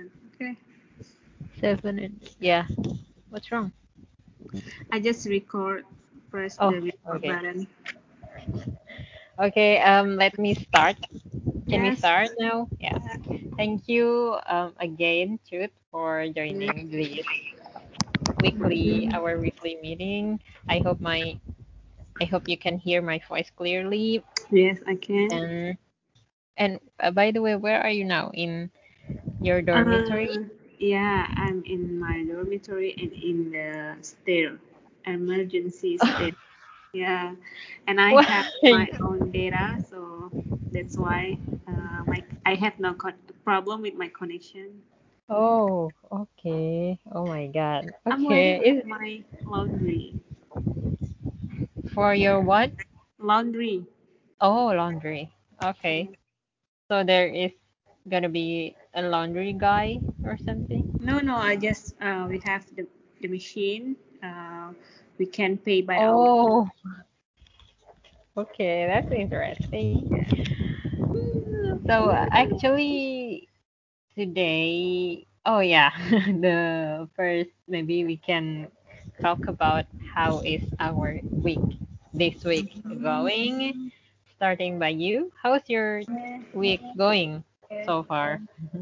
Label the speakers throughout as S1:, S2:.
S1: Okay.
S2: 7 and yeah. What's wrong?
S1: I just press
S2: Oh,
S1: the record
S2: okay.
S1: button.
S2: Okay, let me start. Can we
S1: Yes.
S2: start now? Yeah. Thank you again, Truth, for
S1: Mm,
S2: joining this
S1: mhm.
S2: our weekly meeting. I hope my I hope you can hear my voice clearly.
S1: Yes, I can.
S2: And by the way, where are you now? In your dormitory?
S1: Uh, yeah, I'm in my dormitory and in the stair, emergency stair. Yeah, and I have
S2: Why?
S1: my own data, so that's why my I have no problem with my connection.
S2: Oh, okay. Oh my God.
S1: I'm waiting
S2: Okay.
S1: with my laundry.
S2: For your what?
S1: Laundry.
S2: Oh, laundry. Okay. So there is gonna be a laundry guy or something?
S1: No, no, I just we have the machine. We can pay by hour.
S2: Oh, okay. That's interesting.
S1: Yeah.
S2: So actually today, oh yeah, the first maybe we can talk about how is our week this week going. Starting by you, how's your week going so far?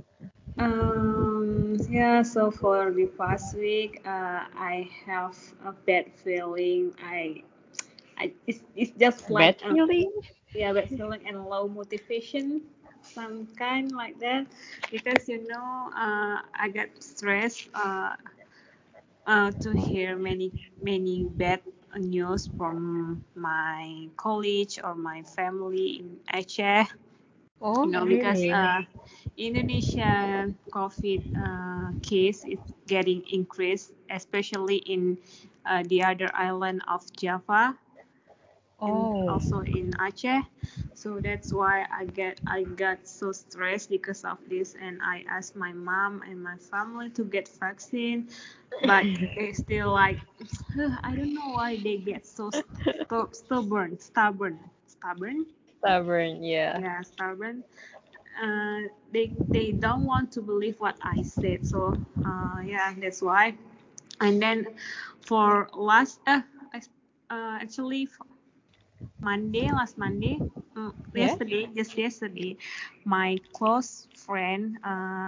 S1: Yeah, so for the past week, I have a bad feeling. It's just like
S2: Bad feeling?
S1: yeah, bad feeling and low motivation, some kind like that, because I got stressed to hear many bad news from my college or my family in Aceh.
S2: Oh,
S1: Because
S2: really?
S1: Indonesia COVID case is getting increased, especially in the other island of Java and
S2: Oh,
S1: also in Aceh. So that's why I got so stressed because of this, and I asked my mom and my family to get vaccine, but they still like I don't know why they get so stubborn.
S2: stubborn, yeah.
S1: Yeah, stubborn. They don't want to believe what I said. So yeah, that's why. And then for actually last Monday,
S2: Yeah?
S1: just yesterday, my close friend,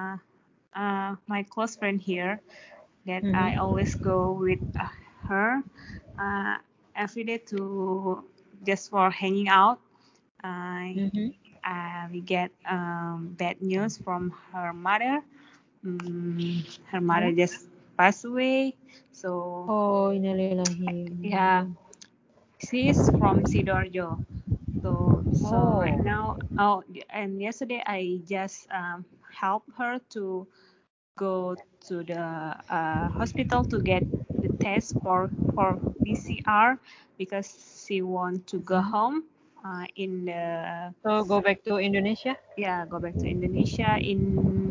S1: here that I
S2: Mm-hmm.
S1: always go with her uh, every day to just for hanging out. Uh,
S2: Mm-hmm.
S1: we get bad news from her mother. Her mother
S2: Oh,
S1: just passed away. So
S2: oh, innalillahi.
S1: yeah, she's from Sidoarjo. So right
S2: Oh.
S1: now, oh, and yesterday I just helped her to go to the hospital to get the test for PCR because she want to go
S2: Mhm.
S1: home in the
S2: So go back to Indonesia?
S1: yeah, go back to Indonesia in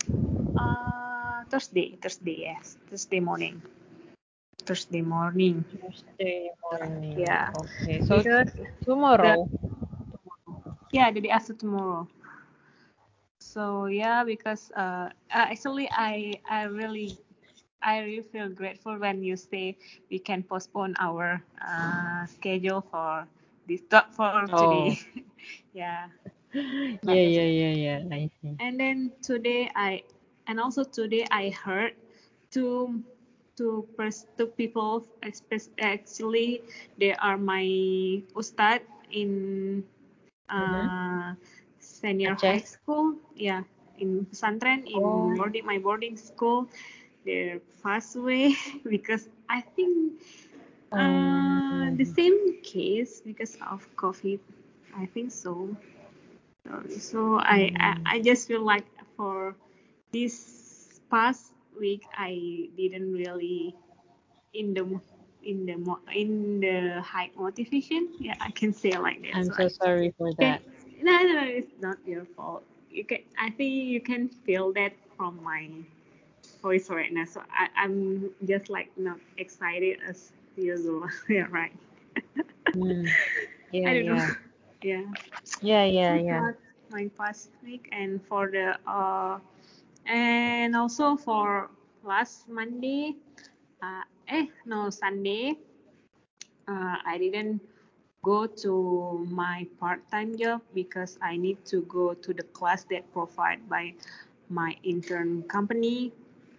S1: Thursday morning. Thursday morning.
S2: Thursday morning.
S1: Yeah,
S2: Okay. So
S1: because the
S2: tomorrow.
S1: yeah the day after tomorrow. So yeah, because actually I really feel grateful when you say we can postpone our schedule for for today.
S2: Oh.
S1: Yeah,
S2: Yeah,
S1: but that's
S2: yeah,
S1: it.
S2: yeah, yeah. I see.
S1: And then today I heard two two people, actually they are my ustad in
S2: Mm-hmm.
S1: uh, senior high
S2: Aceh?
S1: school. Yeah, in pesantren in
S2: Oh.
S1: boarding school. They passed away because I think the
S2: Um,
S1: same case because of COVID. I think so. So
S2: mm,
S1: I just feel like for this past week I didn't really in the in the high motivation. Yeah, I can say like that.
S2: I'm
S1: So
S2: so sorry for
S1: can
S2: that.
S1: no, it's not your fault. I think you can feel that from my voice right now. So I'm just like not excited as usual. Yeah, right.
S2: Mm.
S1: I
S2: Yeah,
S1: don't know.
S2: yeah.
S1: Yeah.
S2: Yeah,
S1: This
S2: yeah,
S1: is
S2: yeah.
S1: what my past week, and for the And also for last Monday, no, Sunday, I didn't go to my part-time job because I need to go to the class that provided by my intern company.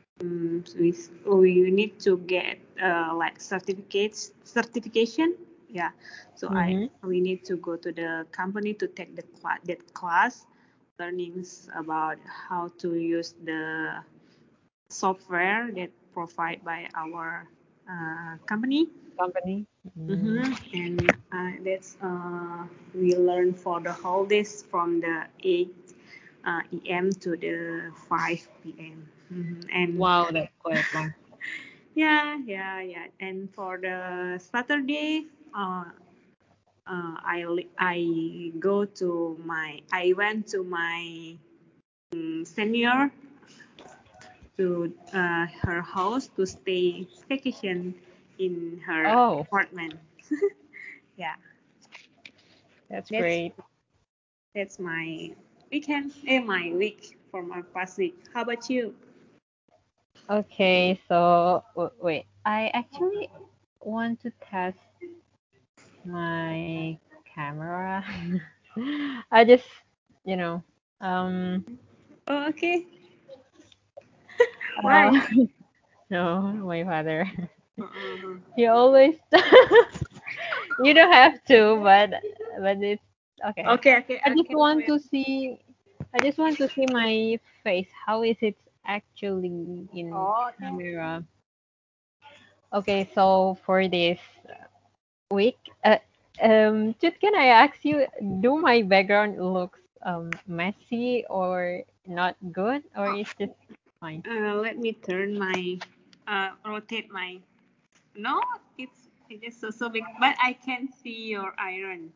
S1: We need to get like certification. Yeah, so I
S2: Mm-hmm.
S1: we need to go to the company to take that class, learnings about how to use the software that provide by our company.
S2: Company. Mm.
S1: Mm-hmm. And that's we learn for the whole days from the 8 a.m. to the 5 p.m. And
S2: Wow, that's quite long.
S1: yeah. And for the Saturday, I go to I went to my senior to her house to stay vacation in her
S2: Oh,
S1: apartment. Yeah,
S2: that's
S1: that's
S2: great.
S1: that's my weekend, my week for my past week. How about you?
S2: Okay, so wait, I actually want to test my camera. I just, you know, um,
S1: Oh, okay.
S2: uh,
S1: Why?
S2: no, my father.
S1: Uh-uh.
S2: He always, you don't have to, but it's okay. I just
S1: Okay.
S2: want
S1: Wait.
S2: to see, I just want to see my face. How is it actually in
S1: Oh, okay.
S2: camera? Okay, so for this week, just can I ask you, do my background looks messy or not good, or
S1: Oh,
S2: is just fine?
S1: let me turn my rotate my. No, it's just so big, but I can see your iron.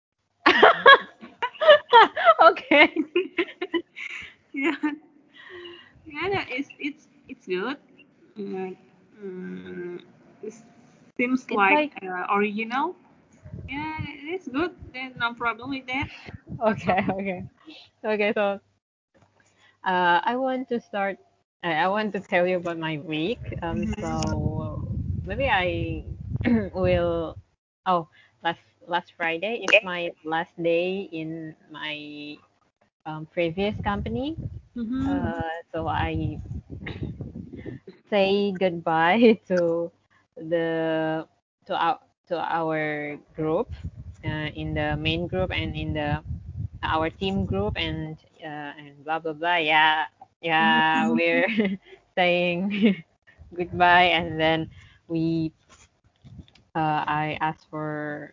S2: Okay.
S1: Yeah, yeah, no, it's good. Mm, mm, it seems
S2: It's
S1: like
S2: like
S1: original. Yeah, it's good. There's no problem with that.
S2: okay, okay, okay. So I want to start. I want to tell you about my week. So maybe I will. Oh, last Friday is my last day in my previous company.
S1: Mm-hmm.
S2: So I say goodbye the to our to our group in the main group and in the our team group and blah blah blah. Yeah, yeah,
S1: Mm-hmm.
S2: we're saying goodbye, and then we I asked for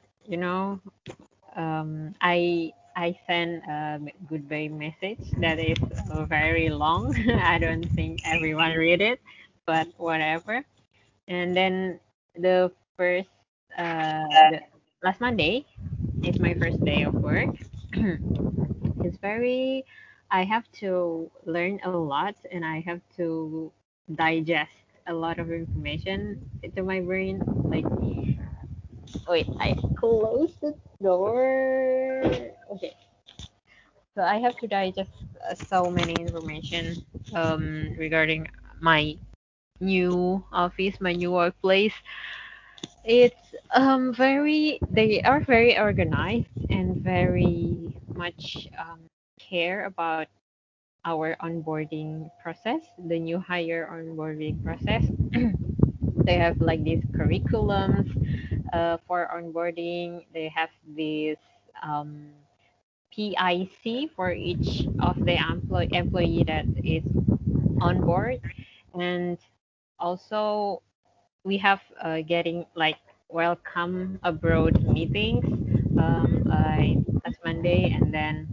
S2: I send a goodbye message that is very long. I don't think everyone read it, but whatever. And then the first the last Monday is my first day of work. It's very I have to learn a lot and I have to digest a lot of information into my brain. Like wait, I closed the door. Okay. So I have to digest so many information regarding my new office, my new workplace. It's very they are very organized and very much care about our onboarding process, the new hire onboarding process. They have like these curriculums for onboarding. They have this um, PIC for each of the employee that is on board, and also we have getting like welcome abroad meetings like last Monday, and then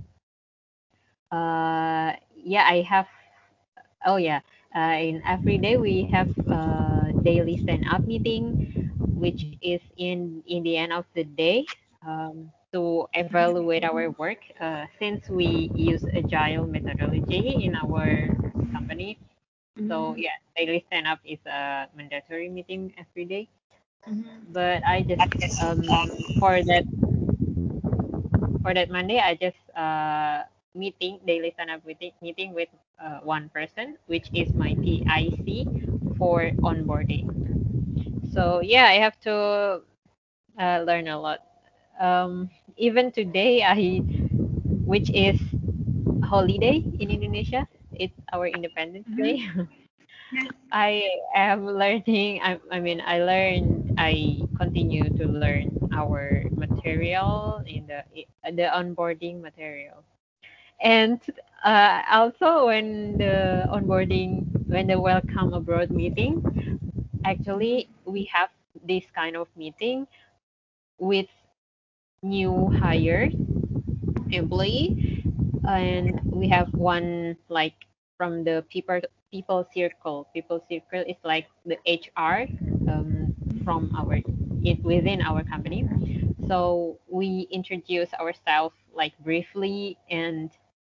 S2: yeah, I have. Oh yeah, in every day we have daily stand up meeting, which is in the end of the day to evaluate our work. Since we use agile methodology in our company, so
S1: Mm-hmm.
S2: yeah, daily stand up is a mandatory meeting every day.
S1: Mm-hmm.
S2: But I just um for that for that Monday, I just meeting, daily stand-up meeting with one person, which is my TIC for onboarding. So yeah, I have to learn a lot. Even today, which is holiday in Indonesia, it's our Independence
S1: Mm-hmm.
S2: Day.
S1: Yeah.
S2: I am learning. I continue to learn our material in the onboarding material. And also when the welcome abroad meeting, actually we have this kind of meeting with new hires employee, and we have one like from the people circle. People circle is like the HR from our it within our company. So we introduce ourselves like briefly, and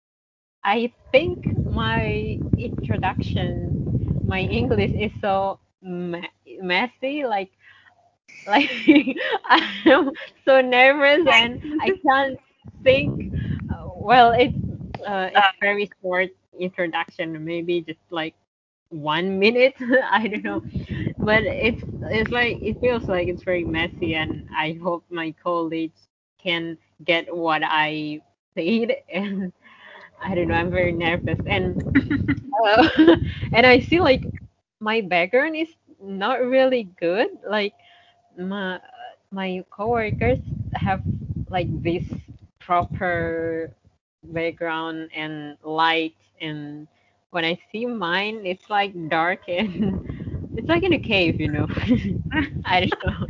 S2: I think my introduction, my English is so messy, like I'm so nervous and I can't think. Well, it's very short introduction, maybe just like 1 minute. I don't know, but it's like it feels like it's very messy, and I hope my colleagues can get what I said. And I don't know, I'm very nervous, uh, and I see like my background is not really good. Like my my coworkers have like this proper background and light, and when I see mine, it's like dark and it's like in a cave, you know. I don't know.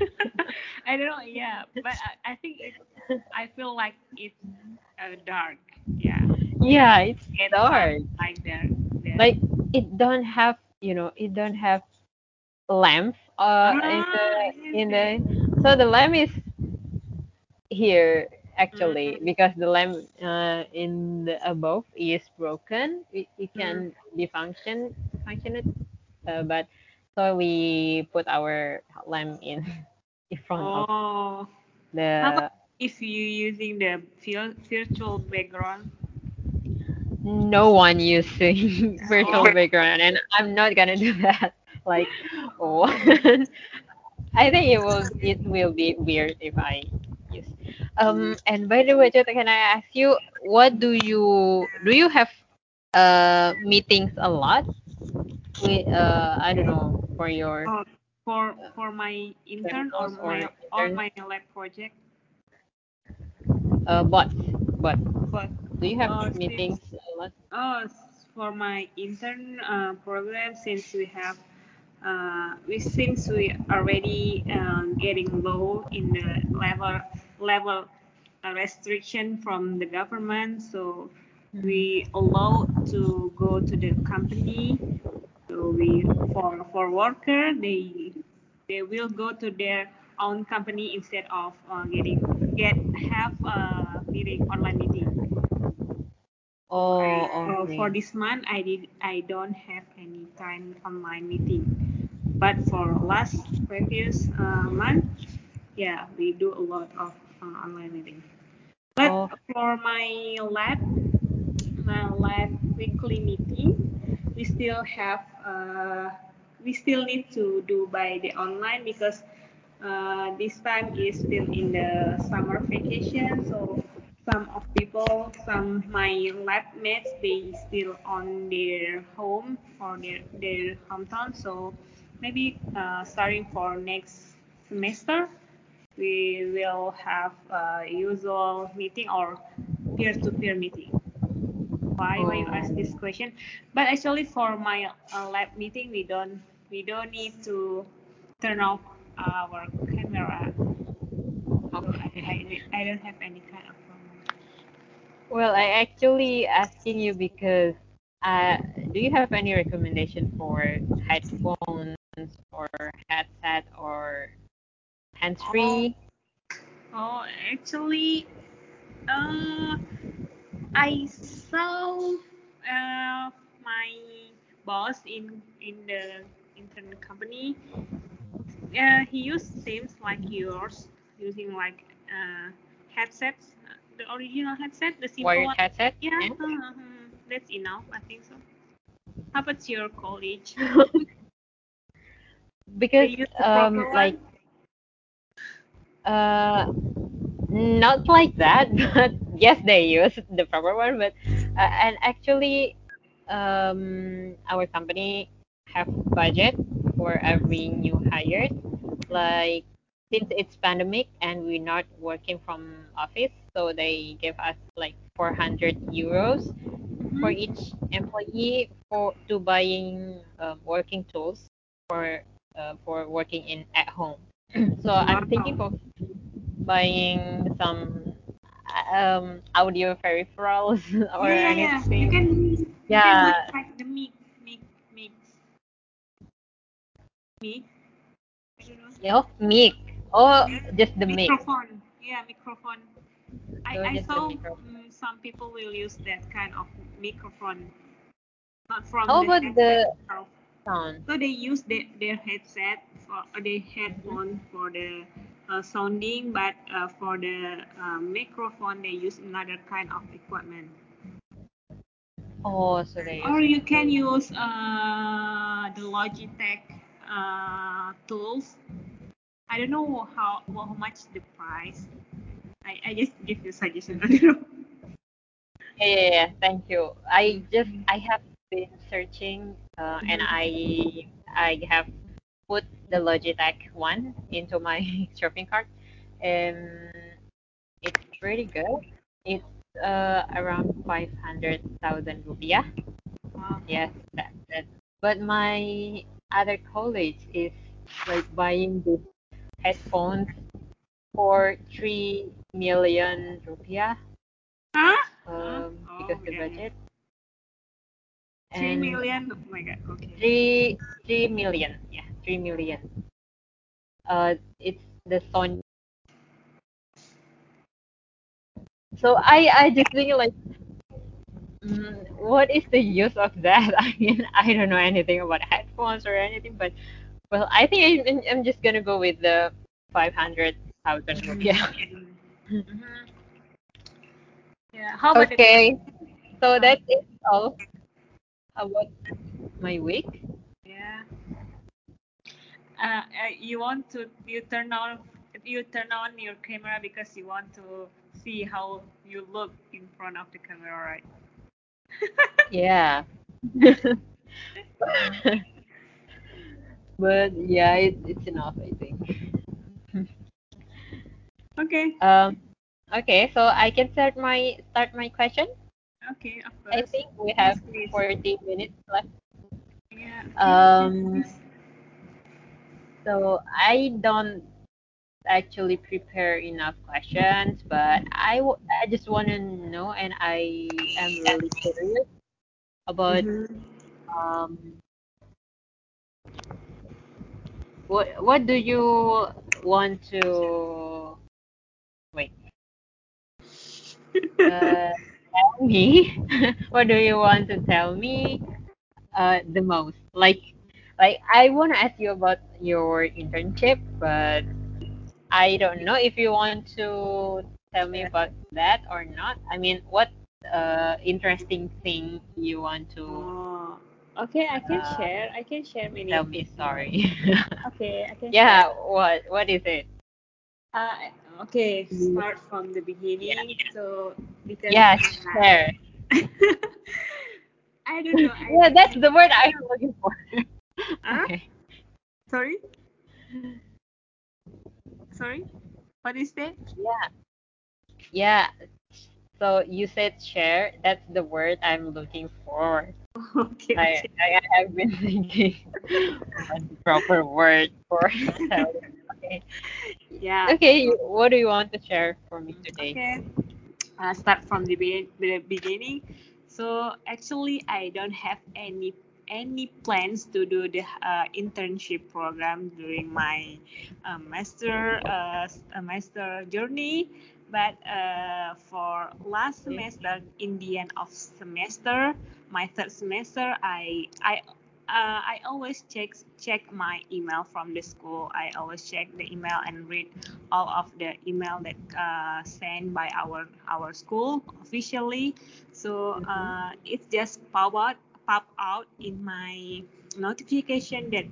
S1: I don't know. Yeah, but I think it. I feel like it's dark. Yeah,
S2: Yeah, it's
S1: get some
S2: dark.
S1: like there.
S2: Like it don't have lamp
S1: Ah, yes,
S2: in
S1: yes.
S2: the so the lamp is here actually
S1: Mm,
S2: because the lamp in the above is broken. We
S1: mm.
S2: can function it, but so we put our lamp in in front of
S1: Oh, how about
S2: the
S1: if you using the virtual background?
S2: no one using virtual
S1: Oh,
S2: background, and I'm not gonna do that. Like, oh, I think it will be weird if I use. And by the way, Jota, can I ask you, what do you have meetings a lot with I don't know, for your
S1: oh, for my intern or
S2: trainers or interns,
S1: my lab project,
S2: but
S1: but
S2: do you have
S1: since
S2: meetings a lot?
S1: for my intern program, since we have since we already getting low in the level restriction from the government, so we allow to go to the company. So we for worker, they will go to their own company instead of get have meeting online meeting. So
S2: Oh,
S1: for
S2: okay.
S1: this month, I don't have any kind online meeting. But for last previous month, yeah, we do a lot of online meeting. But
S2: Oh,
S1: for my lab weekly meeting, we still have we still need to do by the online because this time is still in the summer vacation. So some of people, some my lab mates, they still on their home or their hometown. So maybe starting for next semester, we will have usual meeting or peer-to-peer meeting. Why you ask this
S2: oh,
S1: question? But actually, for my lab meeting, we don't need to turn off our camera. So
S2: okay.
S1: I don't have any kind of problem.
S2: Well, I actually asking you because do you have any recommendation for headphones or headset or
S1: Oh,
S2: hands-free?
S1: oh, actually, uh, I saw my boss in the internet company. He used seems like yours, using like headsets. the original headset, the simple
S2: Wired
S1: one.
S2: headset.
S1: Yeah,
S2: Yeah.
S1: that's enough. I think so. How about your college? They
S2: Because
S1: use the proper
S2: like
S1: one.
S2: uh not like that, but yes, they use the proper one. But and actually, our company have budget for every new hire. Like since it's pandemic and we're not working from office, so they give us like 400 euros for
S1: Mm-hmm.
S2: each employee for to buying working tools for working in at home. So I'm thinking
S1: Wow.
S2: of buying some audio peripherals or
S1: Yeah, yeah, yeah. You
S2: anything.
S1: can
S2: Yeah.
S1: buy like the mic, mic, mic. I don't know.
S2: Oh, mic. Oh,
S1: Yeah,
S2: just the mic.
S1: microphone. Yeah, microphone.
S2: So
S1: I
S2: just the
S1: saw
S2: microphone.
S1: some people will use that kind of microphone, not from
S2: How
S1: the
S2: about
S1: headset
S2: the
S1: itself.
S2: sound?
S1: So they use their headset for their
S2: Mhm.
S1: headphone for the sounding, but for the microphone they use another kind of equipment.
S2: Oh, so they use
S1: Or you can
S2: microphone.
S1: use the Logitech tools. I don't know how much the price. I just give you suggestion. I don't know.
S2: Yeah, yeah, yeah. Thank you.
S1: Mhm.
S2: I have been searching, and
S1: Mhm.
S2: I have put the Logitech one into my shopping cart, and it's pretty good. It's around 500,000 rupiah.
S1: Wow.
S2: Yes, that. But my other college is like buying the headphones for 3 million rupiah,
S1: Huh? Huh?
S2: because
S1: Oh
S2: the
S1: yeah, yeah.
S2: budget,
S1: Three
S2: and
S1: million. Oh my God. Okay.
S2: 3 million, yeah, 3 million. It's the Sony. So I just think like, what is the use of that? I mean, I don't know anything about headphones or anything, but well, I think I'm just gonna go with the 500,000 rupiah.
S1: Mm-hmm. Mm-hmm. Yeah. How about the
S2: Okay, so
S1: uh,
S2: that's it all about my week.
S1: yeah. You want to you turn on your camera because you want to see how you look in front of the camera, right?
S2: Yeah. But yeah, it's enough, I think.
S1: Okay.
S2: Um, okay, so I can start my question.
S1: Okay. Of
S2: I
S1: course.
S2: think we have
S1: Please, please.
S2: 40 minutes left.
S1: Yeah. Okay. Okay.
S2: Um,
S1: Please.
S2: so I don't actually prepare enough questions, but I just want to know, and I am really curious about
S1: Mm-hmm.
S2: um what do you want to wait tell me? What do you want to tell me the most? Like I want to ask you about your internship, but I don't know if you want to tell me
S1: Yeah.
S2: about that or not. I mean, what interesting thing you want to
S1: Oh. Okay. I can
S2: uh,
S1: share. I can share many
S2: tell me?
S1: things.
S2: Sorry.
S1: Okay. I can share.
S2: Yeah, what is it?
S1: Uh, okay.
S2: Mm,
S1: Start from the
S2: Yeah,
S1: beginning. So because
S2: yeah, share.
S1: I don't know.
S2: Yeah, that's the word I'm looking for.
S1: Huh?
S2: Okay.
S1: Sorry. Sorry. What is that?
S2: Yeah, yeah. So you said share. That's the word I'm looking for.
S1: Okay. Okay.
S2: I have been thinking what the proper word for telling. Okay.
S1: Yeah.
S2: Okay, what do you want to share for me today?
S1: Okay. Start from the beginning. So actually, I don't have any plans to do the internship program during my master journey. But for last
S2: Okay.
S1: semester, in the end of semester, my third semester, I I always check my email from the school. I always check the email and read all of the email that sent by our school officially. So it just pop out in my notification that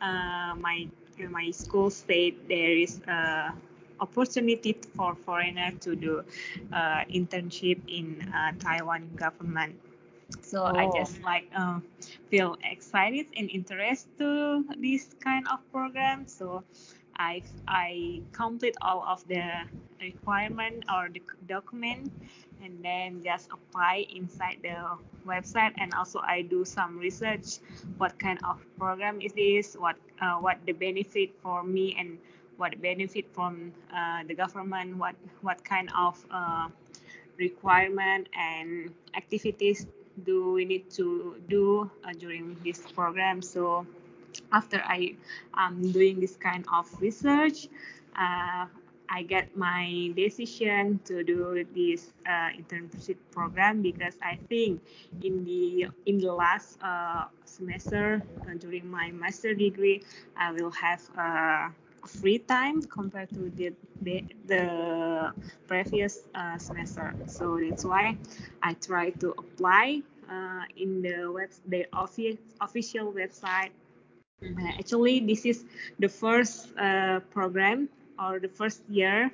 S1: my school state there is opportunity for foreigner to do internship in Taiwan government. So I
S2: Oh.
S1: just like feel excited and interest to this kind of program. So I complete all of the requirement or the document and then just apply inside the website, and also I do some research what kind of program is this, what the benefit for me and what benefit from the government, what kind of requirement and activities do we need to do during this program. So after I am doing this kind of research, uh, I get my decision to do this internship program because I think in the last semester during my master degree, I will have free time compared to the previous semester. So that's why I try to apply in the official website. Actually, this is the first program or the first year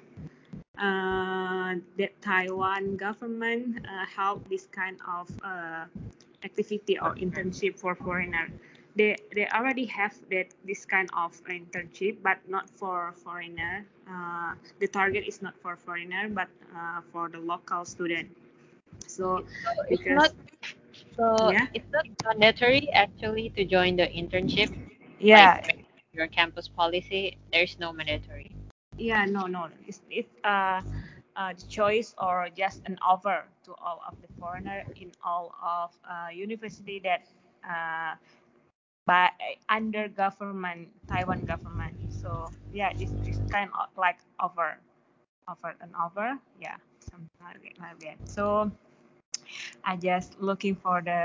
S1: that Taiwan government help this kind of activity or internship for foreigner. They already have this kind of internship, but not for foreigner. The target is not for foreigner, but for the local student. So
S2: So it's not
S1: because
S2: so
S1: yeah
S2: it's not mandatory actually to join the internship. Like
S1: yeah
S2: your campus policy, there's no mandatory.
S1: Yeah, no. It's the choice or just an offer to all of the foreigner in all of university that uh, by under government Taiwan government. So yeah, this kind of like offer. Yeah, something like that. So I just looking for the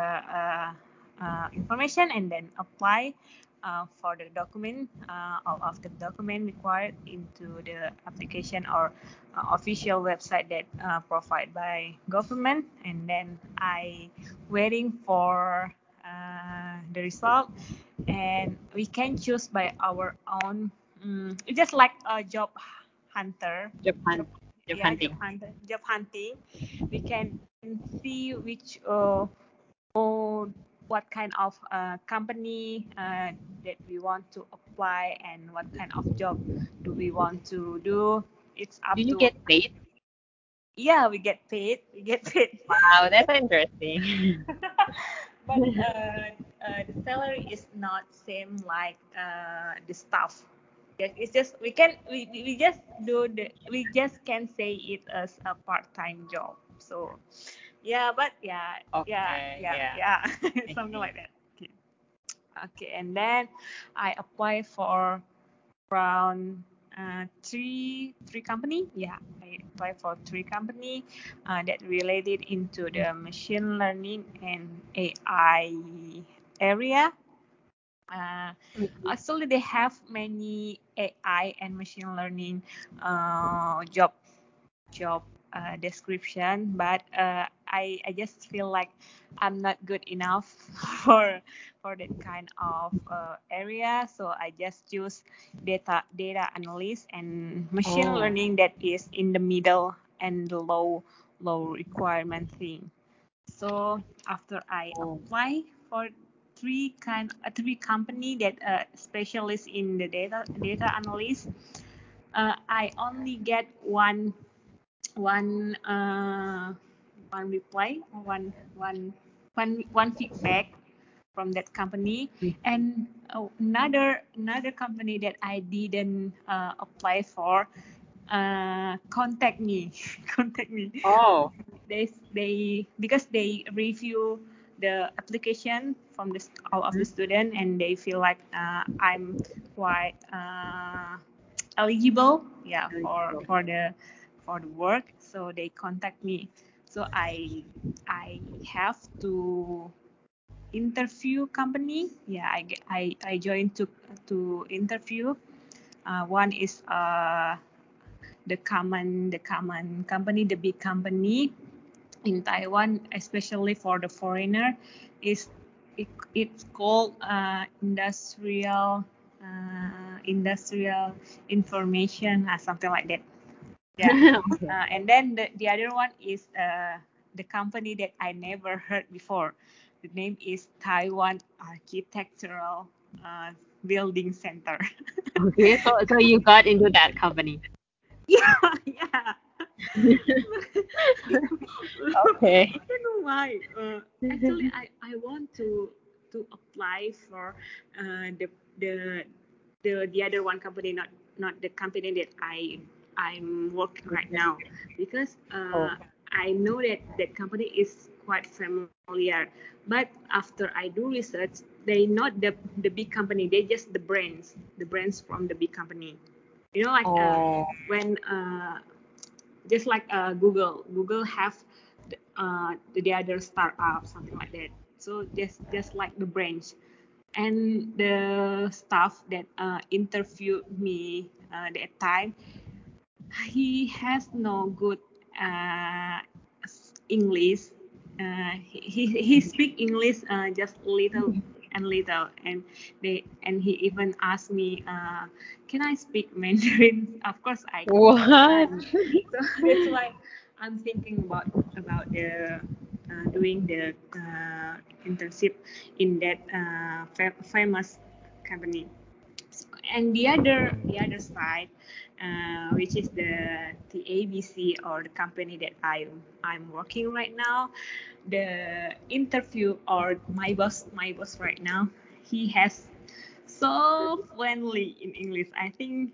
S1: information and then apply for the document, all of the document required into the application or official website that provided by government, and then I waiting for the result, and we can choose by our own. It's just like a job hunter,
S2: Japan,
S1: job,
S2: job
S1: yeah,
S2: hunting.
S1: job hunting. We can see which or what kind of company that we want to apply and what kind of job do we want to do. It's
S2: Do
S1: up
S2: you
S1: to,
S2: get paid?
S1: yeah, we get paid. We get paid.
S2: Wow, that's interesting.
S1: But the salary is not same like the staff. It's just we just do we just can say it as a part-time job. So yeah, but
S2: Okay, yeah,
S1: yeah,
S2: I
S1: something
S2: see.
S1: like that. Okay. Okay, and then I apply for around three company. Yeah, I applied for three company that related into the machine learning and AI area. Uh,
S2: Mhm.
S1: Actually, they have many AI and machine learning job description, but I just feel like I'm not good enough for that kind of area. So I just choose data analyst and machine
S2: Oh,
S1: learning that is in the middle and the low requirement thing. So after I
S2: oh.
S1: apply for three company that specialist in the data analyst, I only get one one reply, one feedback from that company, and another company that I didn't apply for contact me contact me.
S2: Oh,
S1: They because they review the application from all of the
S2: mhm.
S1: student, and they feel like I'm quite eligible, yeah,
S2: Eligible.
S1: for the work. So they contact me. So I have to interview company. Yeah, I joined to interview. One is the common company, the big company in Taiwan, especially for the foreigner, is it's called industrial information, something like that. Yeah.
S2: Okay.
S1: And then the other one is the company that I never heard before. The name is Taiwan Architectural uh, Building Center.
S2: Okay. So you got into that company.
S1: Yeah, yeah.
S2: Okay.
S1: I don't know why. Actually, I want to apply for the the the other one company, not the company that I'm working right now, because
S2: Oh.
S1: I know that that company is quite familiar. But after I do research, they not the big company. They just the brands from the big company. You know, like
S2: Oh.
S1: when just like Google have the other startup, something like that. So just like the branch, and the staff that interviewed me that time, he has no good uh, English. He speak English just little and little, and he even asked me, can I speak Mandarin? Of course I
S2: What?
S1: can. So that's why I'm thinking about the doing the internship in that famous company. And the other side, which is the ABC, or the company that I'm working right now, the interview, or my boss right now, he has so friendly in English. I think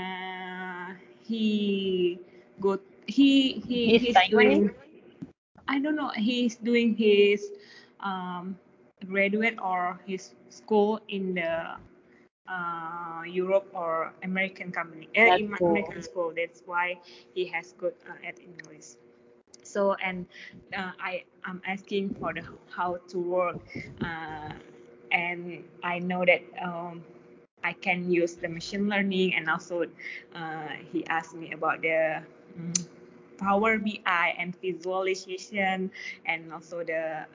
S1: he good
S2: He's
S1: he's
S2: Taiwanese?
S1: doing, I don't know, he's doing his um, graduate or his school in the Europe or American company,
S2: That's
S1: in
S2: cool.
S1: American school. That's why he has good at English. So, and I am asking for the how to work, uh, and I know that I can use the machine learning, and also he asked me about the mm, Power BI and visualization, and also the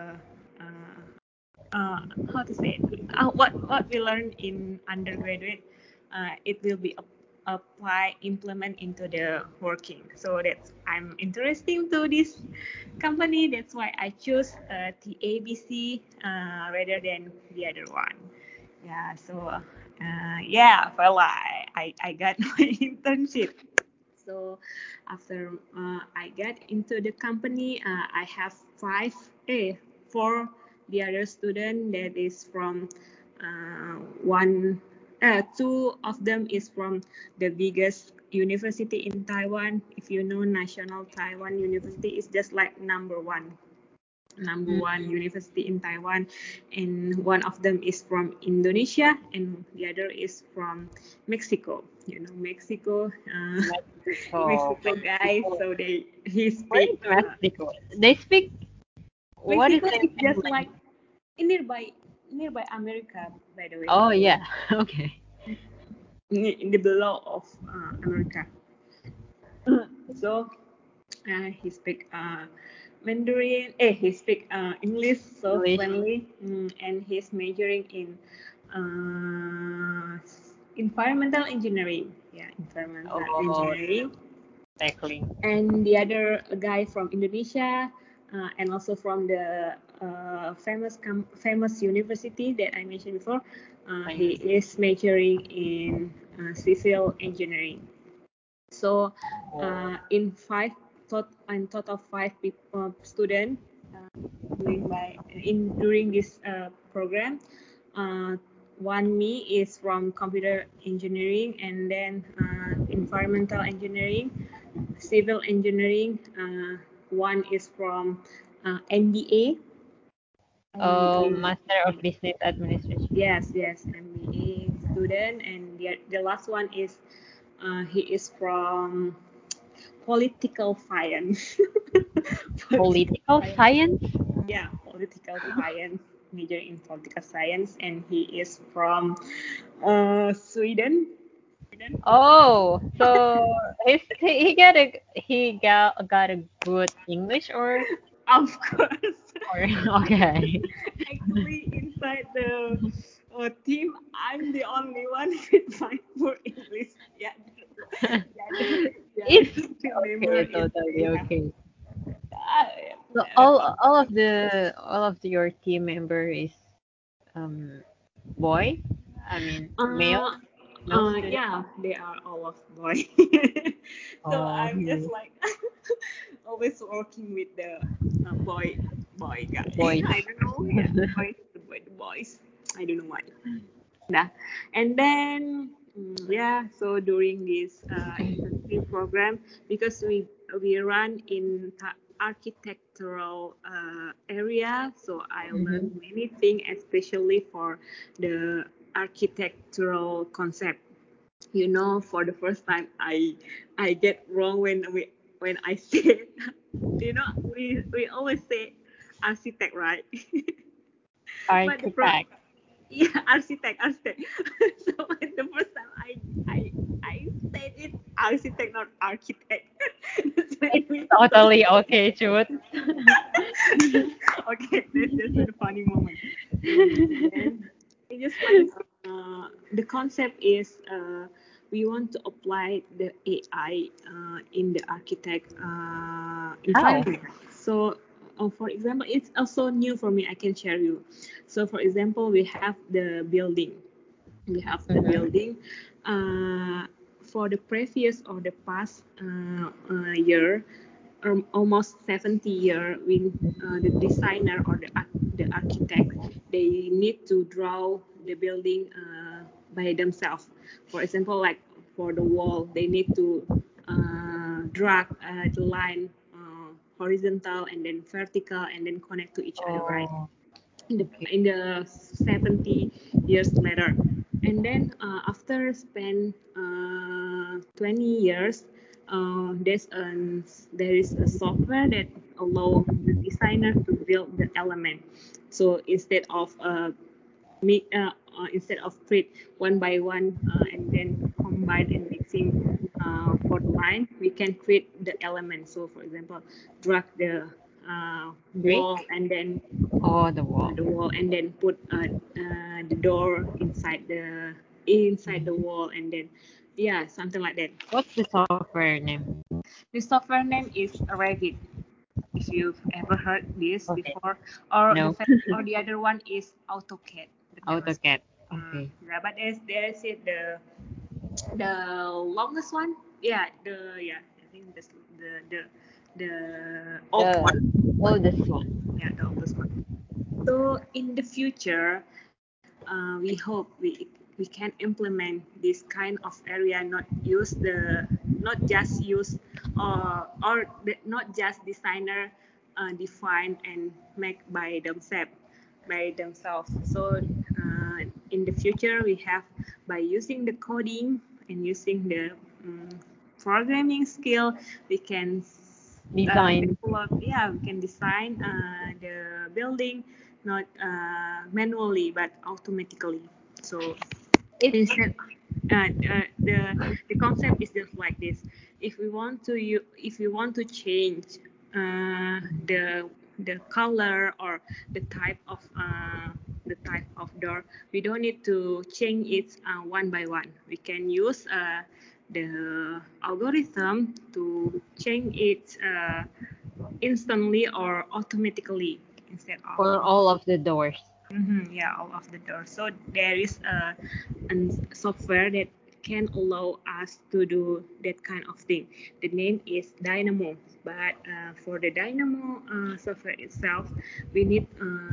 S1: how to say it, what we learn in undergraduate, it will be apply implement into the working. So that's I'm interesting to this company. That's why I choose the ABC rather than the other one. Yeah. So yeah, well, I got my internship. So after I get into the company, I have four the other student that is from one, two of them is from the biggest university in Taiwan. If you know, National Taiwan University is just like number one
S2: Mm,
S1: university in Taiwan, and one of them is from Indonesia, and the other is from Mexico. You know, Mexico,
S2: Mexico.
S1: Mexico guys.
S2: Mexico.
S1: So he
S2: Where
S1: speak
S2: is Mexico? They speak, what is
S1: Mexico
S2: their
S1: is
S2: main
S1: just like
S2: language?
S1: nearby America, by the way,
S2: Oh yeah. Okay.
S1: in the below of America. So he speak Mandarin. He speak English so
S2: English.
S1: friendly, and he's majoring in uh, environmental engineering. Yeah, environmental
S2: Oh,
S1: engineering.
S2: exactly.
S1: And the other guy from Indonesia, and also from the famous university that I mentioned before. He
S2: Like,
S1: is majoring in civil engineering. So
S2: oh,
S1: in total five people, student during this program. Uh, One me is from computer engineering, and then environmental engineering, civil engineering. One is from MBA.
S2: Master of Business Administration.
S1: Yes, MBA student, and the last one is he is from political science. Political
S2: Political
S1: science.
S2: science?
S1: Yeah, political science. majoring in political science, and he is from Sweden.
S2: Oh, so he got a good English
S1: Of course.
S2: or okay.
S1: Actually, inside the team, I'm the only one with my poor English. Yeah, the other
S2: It's
S1: team member
S2: okay,
S1: is
S2: totally
S1: they have.
S2: okay. So
S1: Uh,
S2: your team member is um boy? I mean
S1: uh,
S2: male student.
S1: yeah, they are all of boy. So
S2: Oh,
S1: I'm just like always working with the boy guy.
S2: boys.
S1: I don't know. Yeah, the boys. I don't know why. Yeah. And then yeah, so during this internship program, because we run in architectural area, so I learned
S2: Mhm.
S1: many things, especially for the architectural concept. For the first time, I get wrong when I say, we always say architect, right? But the pro
S2: Architect.
S1: yeah, architect. So the first time I said it architect, not architect. That's when
S2: It's
S1: we
S2: totally okay, Jude.
S1: okay, that's just a funny moment. And then it's just like the concept is we want to apply the AI in the architect
S2: How?
S1: environment. So, for example, it's also new for me. I can share you. So, for example, we have the building. We have the
S2: Mhm.
S1: building. For the previous or the past year, almost 70 year, when the designer or the architect, they need to draw the building by themselves. For example, like for the wall, they need to drag the line horizontal and then vertical and then connect to each other, right?
S2: Oh,
S1: in the
S2: okay.
S1: in the 70 years later. And then after spend 20 years, there is a software that allow the designer to build the element. So instead of print one by one and then combine and mixing for the line, we can create the element. So for example, drag the wall
S2: Brick?
S1: and then
S2: Oh, the wall.
S1: put the door inside the wall, and then yeah, something like that.
S2: What's the software name?
S1: The software name is Revit, if you've ever heard this
S2: Okay.
S1: before, or
S2: No.
S1: the other one is AutoCAD, the famous one.
S2: AutoCAD. Okay.
S1: Yeah, but there's it the longest one. Yeah, I think this the old
S2: The
S1: one, but
S2: oldest one.
S1: yeah, the oldest one. So in the future, we hope we can implement this kind of area, not just use not just designer define and make by themselves. So in the future, we have by using the coding and using the um, programming skill, we can
S2: Design.
S1: develop. Yeah, we can design the building not manually but automatically. So
S2: It's
S1: instead, the concept is just like this. If we want to change the color or the type of door, we don't need to change it one by one. We can use the algorithm to change it instantly or automatically instead of.
S2: for all of the doors.
S1: Yeah, all of the doors. So there is a software that can allow us to do that kind of thing. The name is Dynamo. But for the Dynamo software itself, we need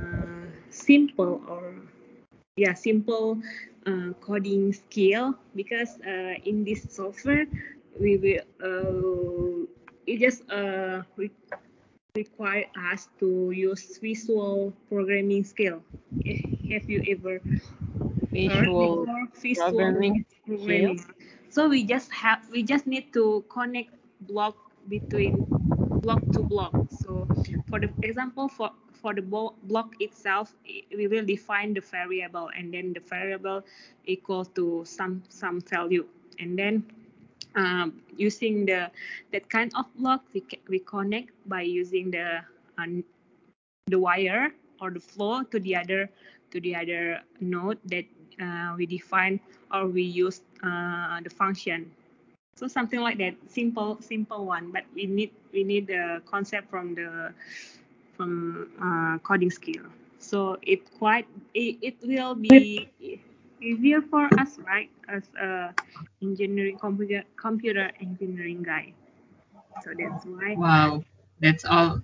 S1: simple coding skill, because in this software we will it just require us to use visual programming skill. Have you ever heard
S2: Visual
S1: before visual
S2: programming skill.
S1: programming? So we just need to connect block between block to block. So for the example, for for the block itself, we will define the variable, and then the variable equal to some value, and then using that kind of block, we connect by using the wire or the flow to the other node that we define, or we use the function. So something like that, simple one, but we need the concept from coding skill. So it will be easier for us, right, as a engineering computer engineering guy. So that's why.
S2: Wow, that's all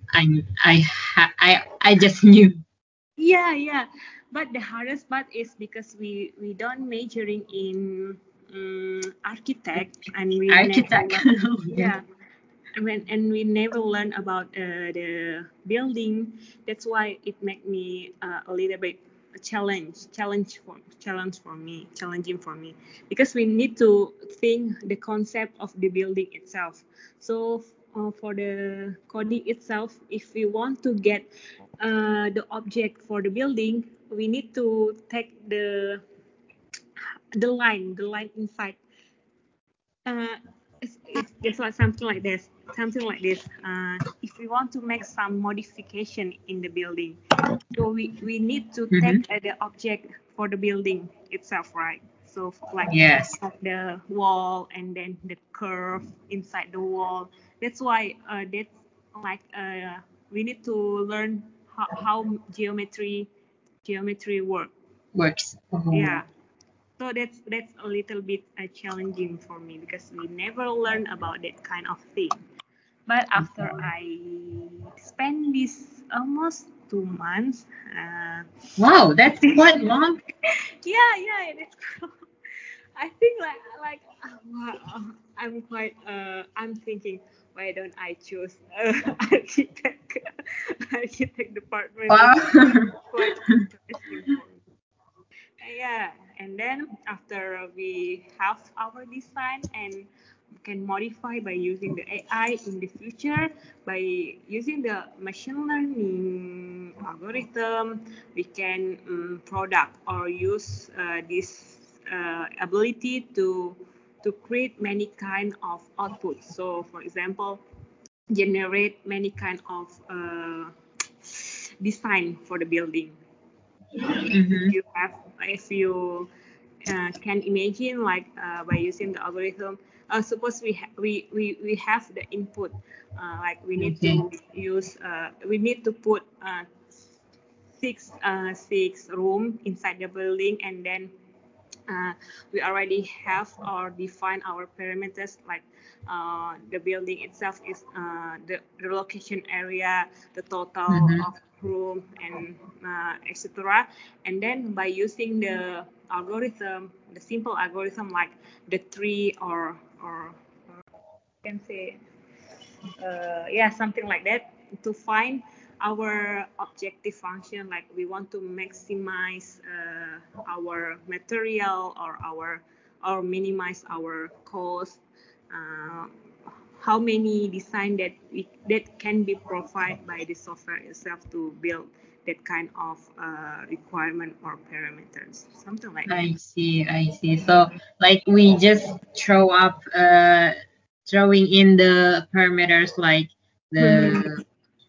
S2: I just knew.
S1: Yeah. But the hardest part is because we don't majoring in architect, and we never
S2: Architect.
S1: learn. Yeah, and we never learn about the building. That's why it make me a little bit a challenging for me, because we need to think the concept of the building itself. So for the coding itself, if we want to get the object for the building, we need to take the line inside. uh, it's like something like this. If we want to make some modification in the building, so we need to
S2: Hmm.
S1: take the object for the building itself, right? So
S2: Yes.
S1: like the wall, and then the curve inside the wall. That's why that's like we need to learn how geometry work.
S2: Works.
S1: Yeah, so that's a little bit challenging for me, because we never learn about that kind of thing. But after I spend this almost 2 months,
S2: Wow,
S1: I
S2: that's
S1: think
S2: quite long.
S1: yeah, it is. I think I'm quite I'm thinking, why don't I choose architect architect department?
S2: Wow.
S1: It's quite interesting for me. Yeah, and then after we have our design and can modify by using the AI in the future, by using the machine learning algorithm, we can product or use this ability to create many kind of outputs. So, for example, generate many kind of design for the building. If
S2: Hmm.
S1: you can imagine, like by using the algorithm, suppose we have the input, like
S2: Okay.
S1: we need to put six room inside the building, and then we already have or define our parameters, like the building itself is the location area, the total
S2: Hmm.
S1: of room, and etc. And then by using the algorithm, the simple algorithm like the tree, or you can say yeah, something like that, to find our objective function, like we want to maximize our material, or minimize our cost, uh, how many design that can be provided by the software itself to build that kind of requirement or parameters, something like that.
S2: I see, I see. So like we just throwing in the parameters like
S1: Mm-hmm.
S2: the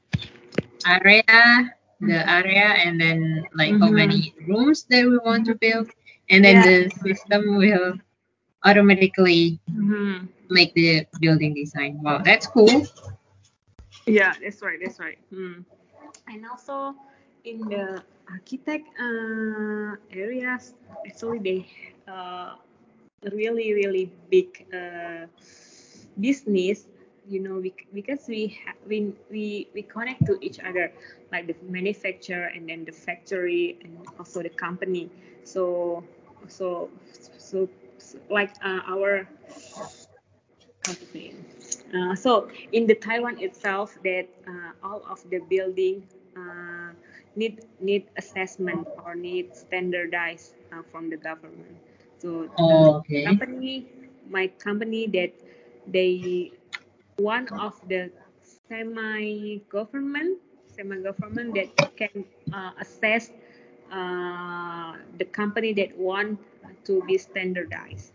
S2: area, and then like how
S1: Mm-hmm.
S2: many rooms that we want to
S1: Mm-hmm.
S2: build, and then
S1: Yeah,
S2: the
S1: that's right.
S2: system will automatically
S1: Mm-hmm.
S2: make the building design. Wow, that's cool.
S1: Yeah, that's right. That's right. And also in the architect areas, actually they uh, really big business. Because we connect to each other, like the manufacturer, and then the factory, and also the company. So so so like our, how to say it? So in the Taiwan itself, that all of the building need assessment or need standardized from the government. So
S2: Oh, okay.
S1: company, my company, that they one of the semi government. semi-government that can assess the company that want to be standardized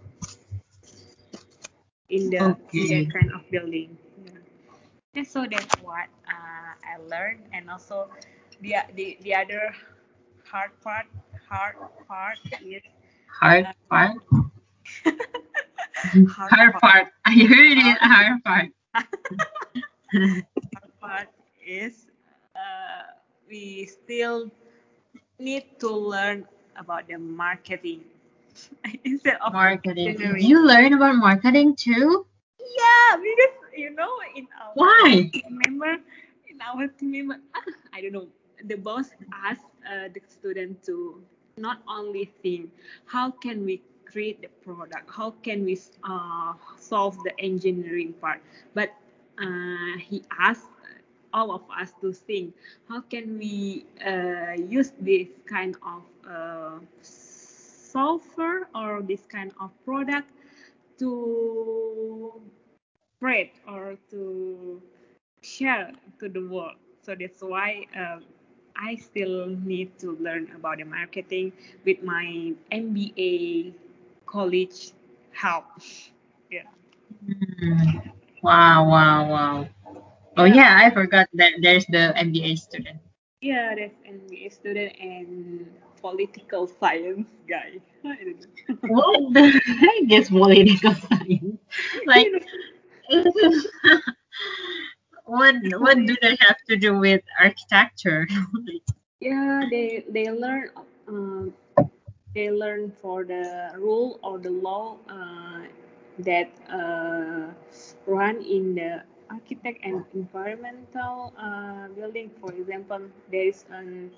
S1: in that
S2: Okay.
S1: kind of building. Yeah. And so that's what I learned, and also the other hard part hard part is
S2: Hard
S1: uh,
S2: part.
S1: hard
S2: Hard
S1: part
S2: part. I heard it.
S1: hard,
S2: Hard part.
S1: hard part is we still need to learn about the marketing instead of
S2: Marketing.
S1: engineering.
S2: You learn about marketing too?
S1: Yeah, because in our
S2: Why?
S1: team member, I don't know, the boss asked the student to not only think how can we create the product, how can we solve the engineering part, but he asked all of us to think how can we use this kind of software or this kind of product to spread or to share to the world. So that's why I still need to learn about the marketing with my MBA college help. Yeah.
S2: Hmm. Wow, wow, wow. Oh
S1: Yeah.
S2: yeah, I forgot that there's the MBA student.
S1: Yeah, that's MBA student and political science guy. I don't know.
S2: What the heck is political science? Like,
S1: you know,
S2: what do they have to do with architecture?
S1: yeah, um, they learn for the rule or the law that run in the architect and environmental building. For example, there is a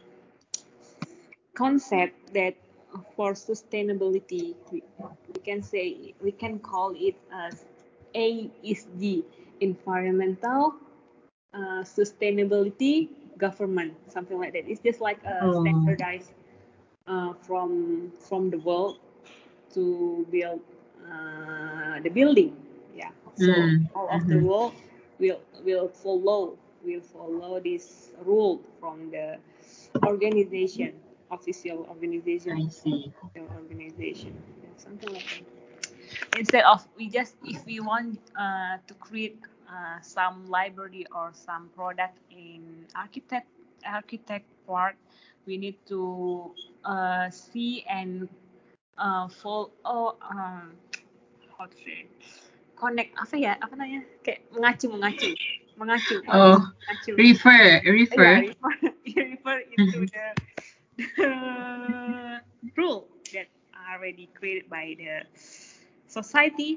S1: concept that for sustainability, we can say we can call it as ASG, environmental sustainability government, something like that. It's just like a
S2: Oh,
S1: standardized from the world to build the building. Yeah. So
S2: mm,
S1: all of the
S2: mm-hmm.
S1: world will follow this rule from the organization, official organization,
S2: I see.
S1: yeah, something like that. Instead of we just if we want to create some library or some product in architect part, we need to see and follow how to say connect apa namanya kayak mengacu mengacu mengacu
S2: Oh,
S1: mengacu yeah,
S2: refer.
S1: refer into the rule that are already created by the society.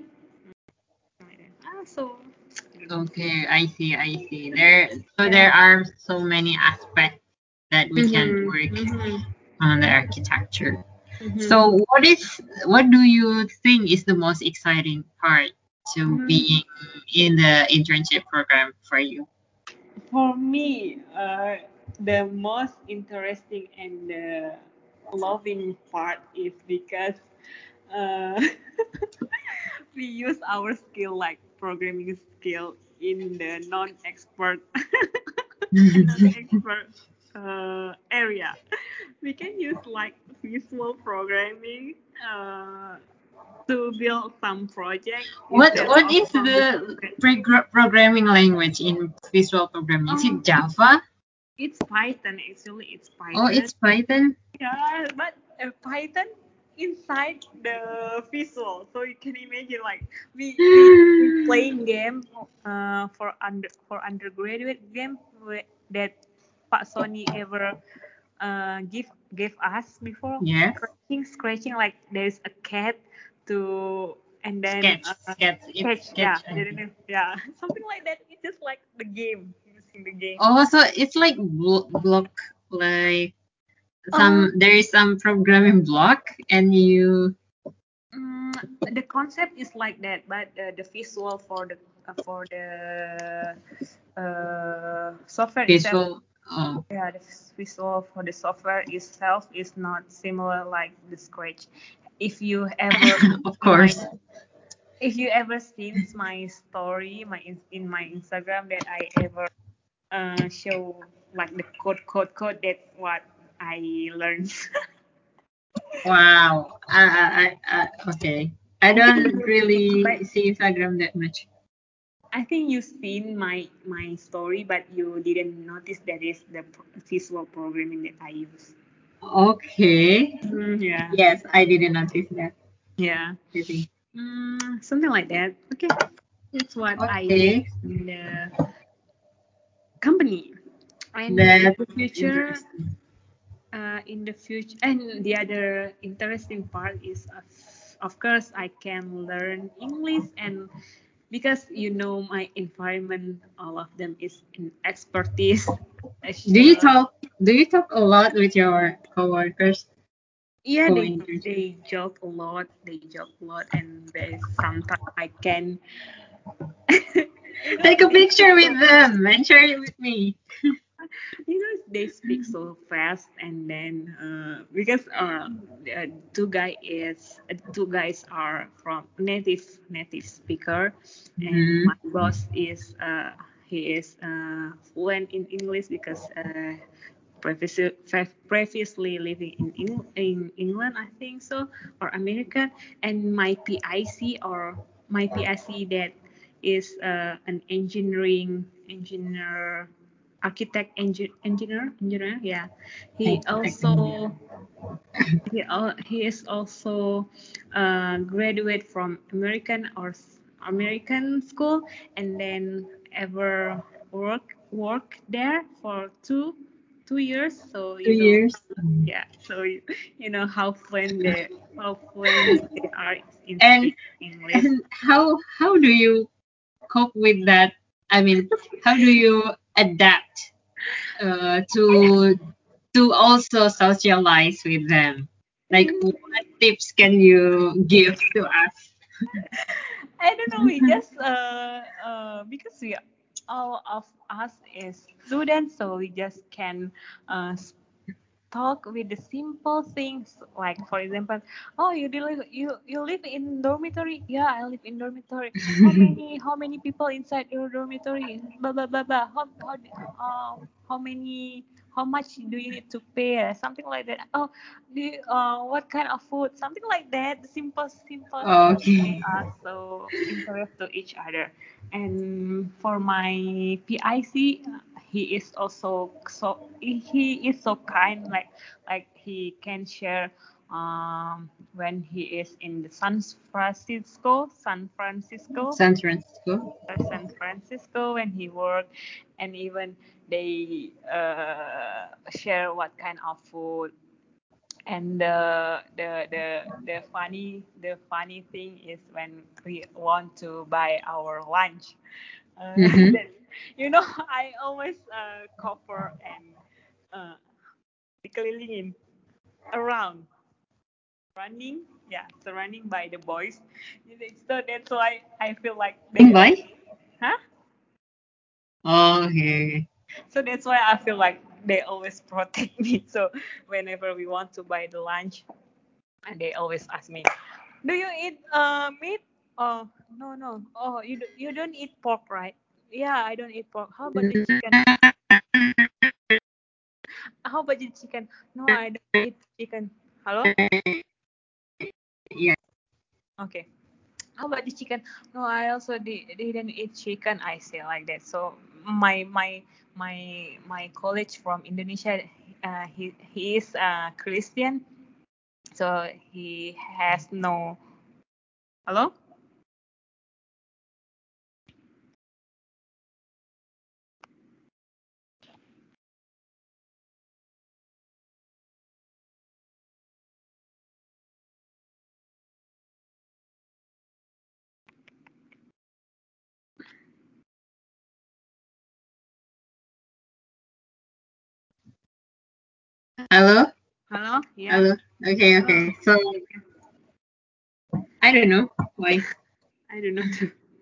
S1: So I don't know.
S2: Okay, I see, I see. There
S1: Yeah.
S2: are so many aspects that we can
S1: Mm-hmm.
S2: work
S1: Mm-hmm.
S2: on the architecture.
S1: Mm-hmm.
S2: So what do you think is the most exciting part to
S1: Mm,
S2: being in the internship program for you?
S1: for me, the most interesting and loving part is because uh, we use our skill like programming skill in the non-expert and non-expert area. We can use like visual programming to build some project instead
S2: What
S1: of
S2: is
S1: from the
S2: the
S1: scratch.
S2: programming language in visual programming? Is
S1: Oh,
S2: it Java?
S1: it's Python actually. It's
S2: Oh,
S1: Python.
S2: it's Python.
S1: Yeah, but Python inside the visual, so you can imagine like we playing game for undergraduate game that Pak Sony ever give us before
S2: Yes.
S1: scratching like there's a cat to and then
S2: Sketch. It's
S1: catch,
S2: sketch.
S1: yeah,
S2: I think.
S1: yeah, something like that. It's just like the game, using the game.
S2: Oh, so it's like block, like
S1: uh
S2: there is some programming block, and you
S1: Mm, the concept is like that, but the visual for the software itself,
S2: visual. Oh,
S1: yeah, the visual for the software itself is not similar like the Scratch. If you ever
S2: of
S1: see my,
S2: course.
S1: if you ever seen my story, in my Instagram that I ever show like the code. That's what I learned.
S2: Wow. Okay. I don't really
S1: But
S2: see Instagram that much.
S1: I think you've seen my story, but you didn't notice that is the visual programming that I use.
S2: Okay.
S1: Yeah,
S2: Yes, I didn't notice that.
S1: yeah,
S2: I think.
S1: something like that. Okay, that's what I did
S2: Okay.
S1: in the company. And
S2: That's interesting.
S1: in the future, and the other interesting part is, of course, I can learn English, and because my environment, all of them is in expertise.
S2: Do you
S1: So
S2: talk do you talk a lot with your coworkers,
S1: yeah,
S2: co-interns?
S1: they joke a lot. They joke a lot, and they sometimes I can,
S2: Take a
S1: they speak
S2: picture
S1: so
S2: with
S1: fast.
S2: them and share it with me.
S1: They speak so fast, and then because two guys are from native speaker, and
S2: Hmm.
S1: my boss is he is fluent in English because previously living in England, I think so, or America, and my PIC that is an engineer, architect, engineer. Yeah, he
S2: Architect engineer.
S1: also he is also graduate from American school, and then ever work there for two years. So
S2: 2 years.
S1: yeah. So how fluent they are in
S2: And
S1: speaking English.
S2: and how do you cope with that? I mean, how do you adapt to also socialize with them? Like, what tips can you give to us?
S1: I don't know. We just because we all of us is students, so we just can uh, talk with the simple things, like for example, oh, you live in dormitory. Yeah, I live in dormitory. How many people inside your dormitory? Blah blah blah blah. How many, how much do you need to pay? Something like that. Oh, what kind of food? Something like that. Simple things made
S2: Okay.
S1: us so interested to each other. And for my PIC, he is so kind, like he can share when he is in the
S2: San Francisco.
S1: San Francisco when he worked, and even they share what kind of food. And the funny thing is when we want to buy our lunch,
S2: Mm-hmm.
S1: that, I always cover and uh, dikelilingin around, running, yeah, surrounding by the boys. So that's why I feel like they
S2: Invite?
S1: always, huh?
S2: Okay.
S1: So that's why I feel like they always protect me. So whenever we want to buy the lunch, and they always ask me, "Do you eat meat?" Oh, no, no. Oh, you don't eat pork, right? Yeah, I don't eat pork. How about the chicken? How about the chicken? No, I don't eat chicken. Hello?
S2: Yeah.
S1: Okay. How about the chicken? No, I also didn't eat chicken. I say like that. So my college from Indonesia, he is Christian, so he has no. Hello?
S2: Hello?
S1: Hello? Yeah.
S2: Hello? Okay,
S1: So
S2: okay. So, I don't know why.
S1: I don't know.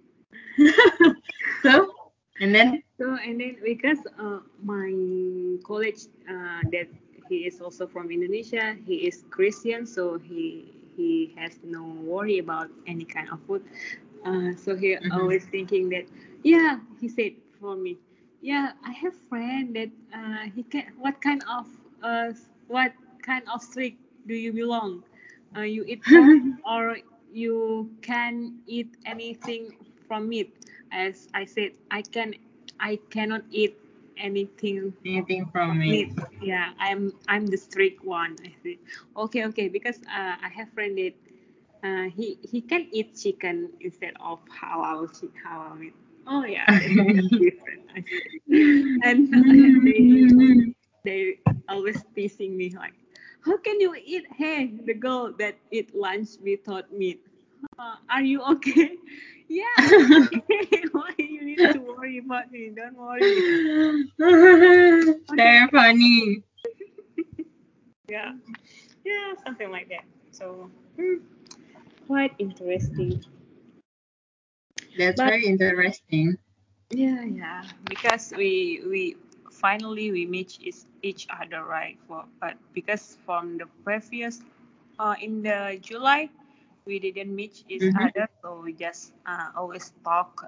S2: So, and then?
S1: So and then because my college, that he is also from Indonesia, he is Christian, so he has no worry about any kind of food. So he
S2: Mhm.
S1: always thinking that, yeah, he said for me, yeah, I have friend that he can. Uh what kind of streak do you belong? You eat pork or you can eat anything from meat? As I said, I cannot eat anything
S2: Anything from
S1: of
S2: me?
S1: meat. Yeah, I'm the strict one. I think. Okay, okay, because I have friend that he can eat chicken instead of halal meat. Oh yeah, that's different. I see. And they always teasing me like, how can you eat? Hey, the girl that eat lunch without meat. Are you okay? Yeah, I'm okay. Why you need to worry about me? Don't worry. Okay.
S2: Very funny.
S1: Yeah, yeah, something like that. So quite interesting.
S2: That's
S1: But
S2: very interesting.
S1: yeah, yeah, because we finally we meet each other, right? But because from the previous in the July we didn't meet each
S2: Mm-hmm.
S1: other, so we just always talk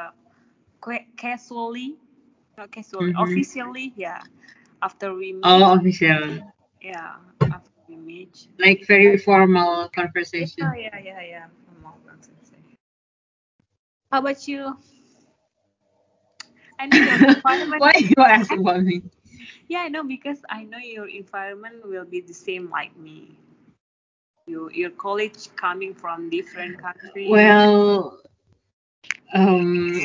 S1: casually, not casually,
S2: Mm-hmm.
S1: officially, yeah. After we meet,
S2: Oh, official.
S1: yeah, after we meet,
S2: Like very formal conversation.
S1: yeah, yeah, yeah, yeah. From all conversation. How about you? I know your environment.
S2: Why you ask about me?
S1: Yeah, I know because I know your environment will be the same like me. Your college coming from different country.
S2: Well, um,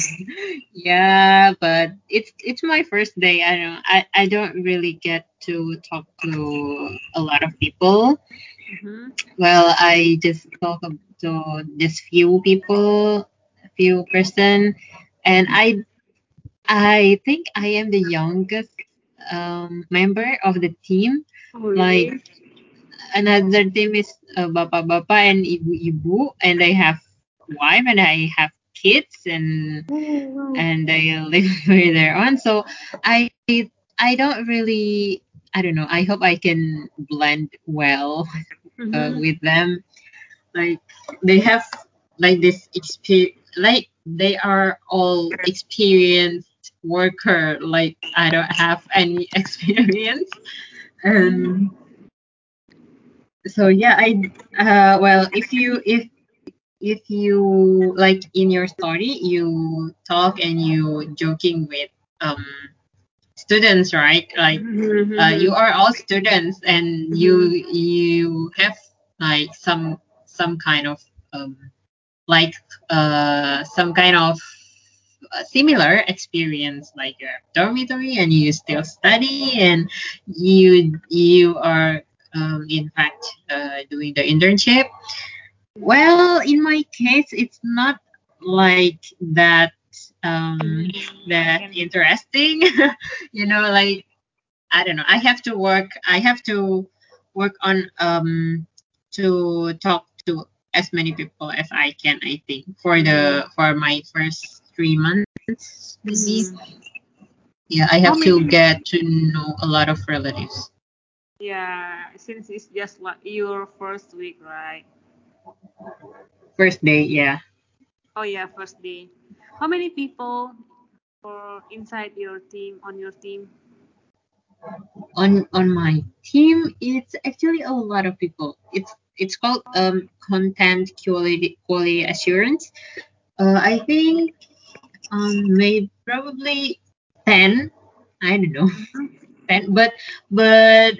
S2: yeah, but it's my first day. I don't really get to talk to a lot of people.
S1: Mm-hmm.
S2: Well, I just talk to just few people, few person, and I think I am the youngest member of the team.
S1: Oh,
S2: Like
S1: really?
S2: another team is bapak-bapak and ibu-ibu, and I have wife and I have kids
S1: Oh, wow.
S2: and they live with their own. So I I don't really, I don't know. I hope I can blend well
S1: Mm-hmm.
S2: with them. Like they have like this experience, like they are all experienced worker. Like I don't have any experience. Um, so yeah, I well, if you like in your story you talk and you joking with um students, right? Like you
S1: Mm-hmm.
S2: are all students and
S1: Mm-hmm.
S2: you have like some kind of um like some kind of similar experience, like you're dormitory and you still study and you are in fact doing the internship. Well, in my case it's not like that
S1: I
S2: that
S1: can.
S2: interesting. Like I don't know. I have to work on to talk to as many people as I can, I think,
S1: Mm-hmm.
S2: for my first 3 months maybe.
S1: Mm-hmm.
S2: Yeah, I
S1: How
S2: have to
S1: many?
S2: get to know a lot of relatives.
S1: Yeah, since it's just like your first week, right?
S2: First day, yeah.
S1: Oh yeah, first day. How many people for inside your team on your team?
S2: On my team, it's actually a lot of people. It's called content quality assurance. I think maybe probably 10. I don't know.
S1: Mm-hmm.
S2: 10, but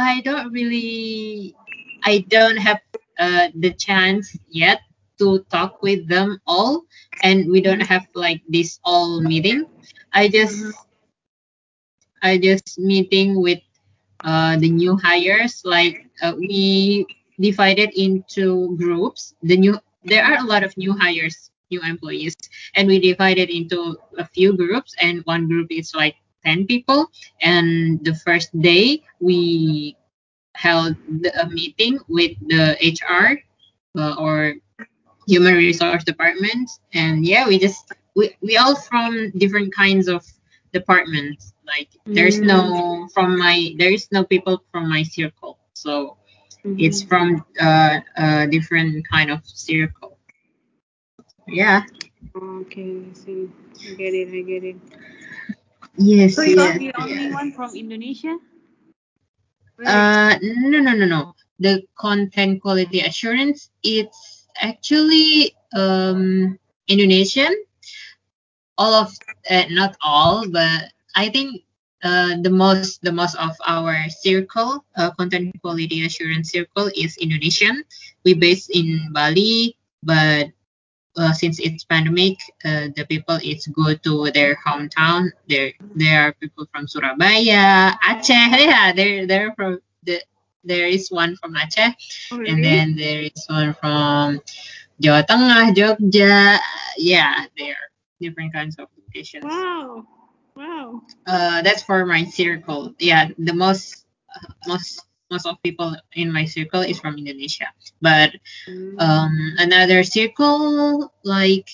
S2: I don't have the chance yet to talk with them all, and we don't have like this all meeting. I
S1: Mm-hmm.
S2: just I just meeting with the new hires. Like we divided into groups. There are a lot of new hires, new employees, and we divided into a few groups. And one group is like 10 people. And the first day we held a meeting with the HR or human resource department, and yeah, we all from different kinds of departments. Like there is no people from my circle, so it's
S1: Mm-hmm.
S2: from different kind of circle. Yeah.
S1: Okay, I see. I get it. I get it. So
S2: Yes,
S1: you are
S2: yes,
S1: the only
S2: yes.
S1: one from Indonesia? Really?
S2: No, no, no, no. The content quality assurance, it's actually Indonesian. All of not all, but I think the most of our circle, content quality assurance circle, is Indonesian. We based in Bali, but since it's pandemic, the people it's go to their hometown. There are people from Surabaya, Aceh. Yeah, they're from there is one from Aceh,
S1: Oh,
S2: and
S1: really?
S2: then there is one from Jawa Tengah, Jogja. Yeah, there are different kinds of locations.
S1: Wow. Wow.
S2: That's for my circle. Yeah, the most of people in my circle is from Indonesia, but
S1: Mm.
S2: another circle like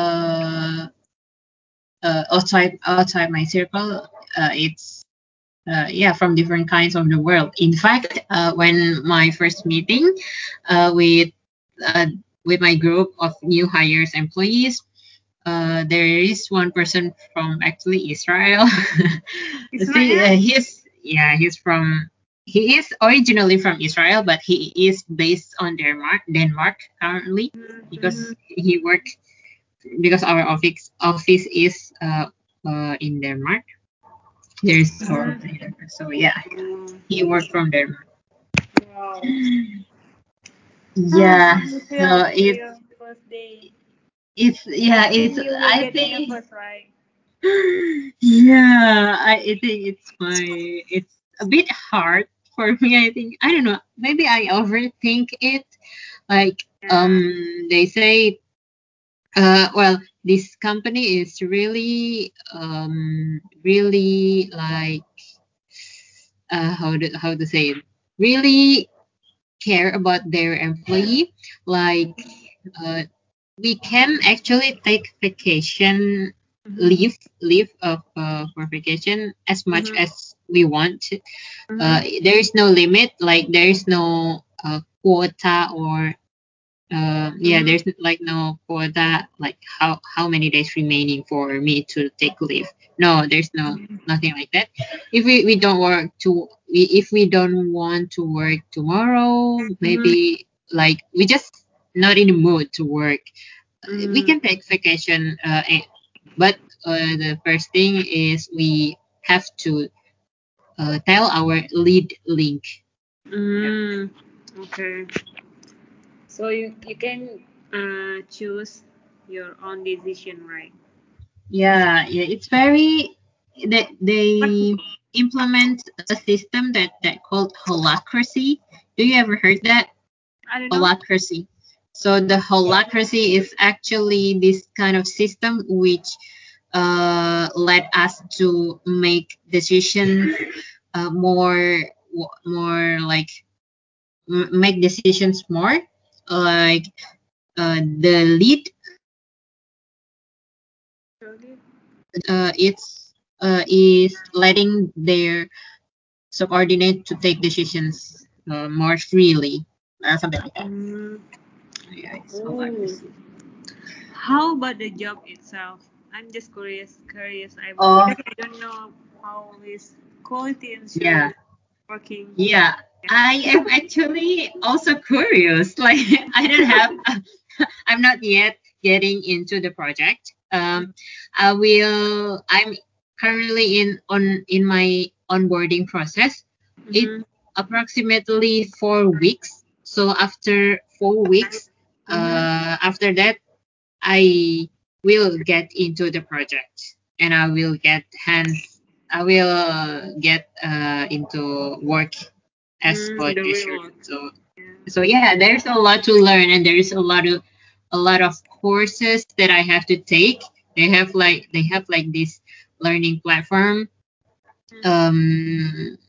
S2: outside my circle, it's yeah, from different kinds of the world. In fact, when my first meeting with uh, with my group of new hires employees, there is one person from actually Israel. See,
S1: Israel?
S2: he is originally from Israel, but he is based on Denmark currently
S1: Mm-hmm.
S2: because he work because our office is in Denmark. There is our office in Denmark, so yeah,
S1: Mm.
S2: he worked from Denmark.
S1: Wow. How
S2: Yeah,
S1: do you feel
S2: so
S1: after your first day?
S2: it's
S1: I
S2: yeah, it's
S1: think you will
S2: I
S1: get
S2: think
S1: nervous, right?
S2: yeah, I think it's a bit hard for me. I think I don't know. Maybe I overthink it. Like
S1: Yeah.
S2: they say, well, this company is really like how to say it, really care about their employee. Like uh, we can actually take vacation
S1: Mm-hmm.
S2: leave for vacation as much
S1: Mm-hmm.
S2: as we want.
S1: Mm-hmm.
S2: There is no limit, like there is no quota or yeah,
S1: Mm-hmm.
S2: there's like no quota, like how many days remaining for me to take leave. No, there's no nothing like that. If we don't if we don't want to work tomorrow,
S1: Mm-hmm.
S2: maybe like we just not in the mood to work, we
S1: Mm-hmm.
S2: can take vacation. But the first thing is we have to tell our lead link. Yeah.
S1: Mm. Okay. So you can choose your own decision, right?
S2: Yeah, yeah, it's very
S1: But
S2: they implement a system that called holacracy. Do you ever heard that?
S1: I don't know.
S2: Holacracy. So the holacracy is actually this kind of system which led us to make decisions more like make decisions more like the lead
S1: Really?
S2: it's is letting their subordinate to take decisions more freely, something like that.
S1: Mm.
S2: Yeah, it's
S1: Oh.
S2: holacracy.
S1: How about the job itself? I'm just curious
S2: Oh,
S1: because I don't know how is quality
S2: yeah,
S1: assurance working.
S2: yeah.
S1: Yeah.
S2: I am actually also curious. Like, I don't have, I'm not yet getting into the project. I'm currently in my onboarding process. It
S1: Mm-hmm.
S2: approximately 4 weeks. So after 4 weeks,
S1: Mm-hmm.
S2: after that, I will get into the project and I will get into work as
S1: Mm, the
S2: quality
S1: real
S2: assurance.
S1: work. Yeah.
S2: So yeah, there's a lot to learn and there is a lot of courses that I have to take. They have like this learning platform um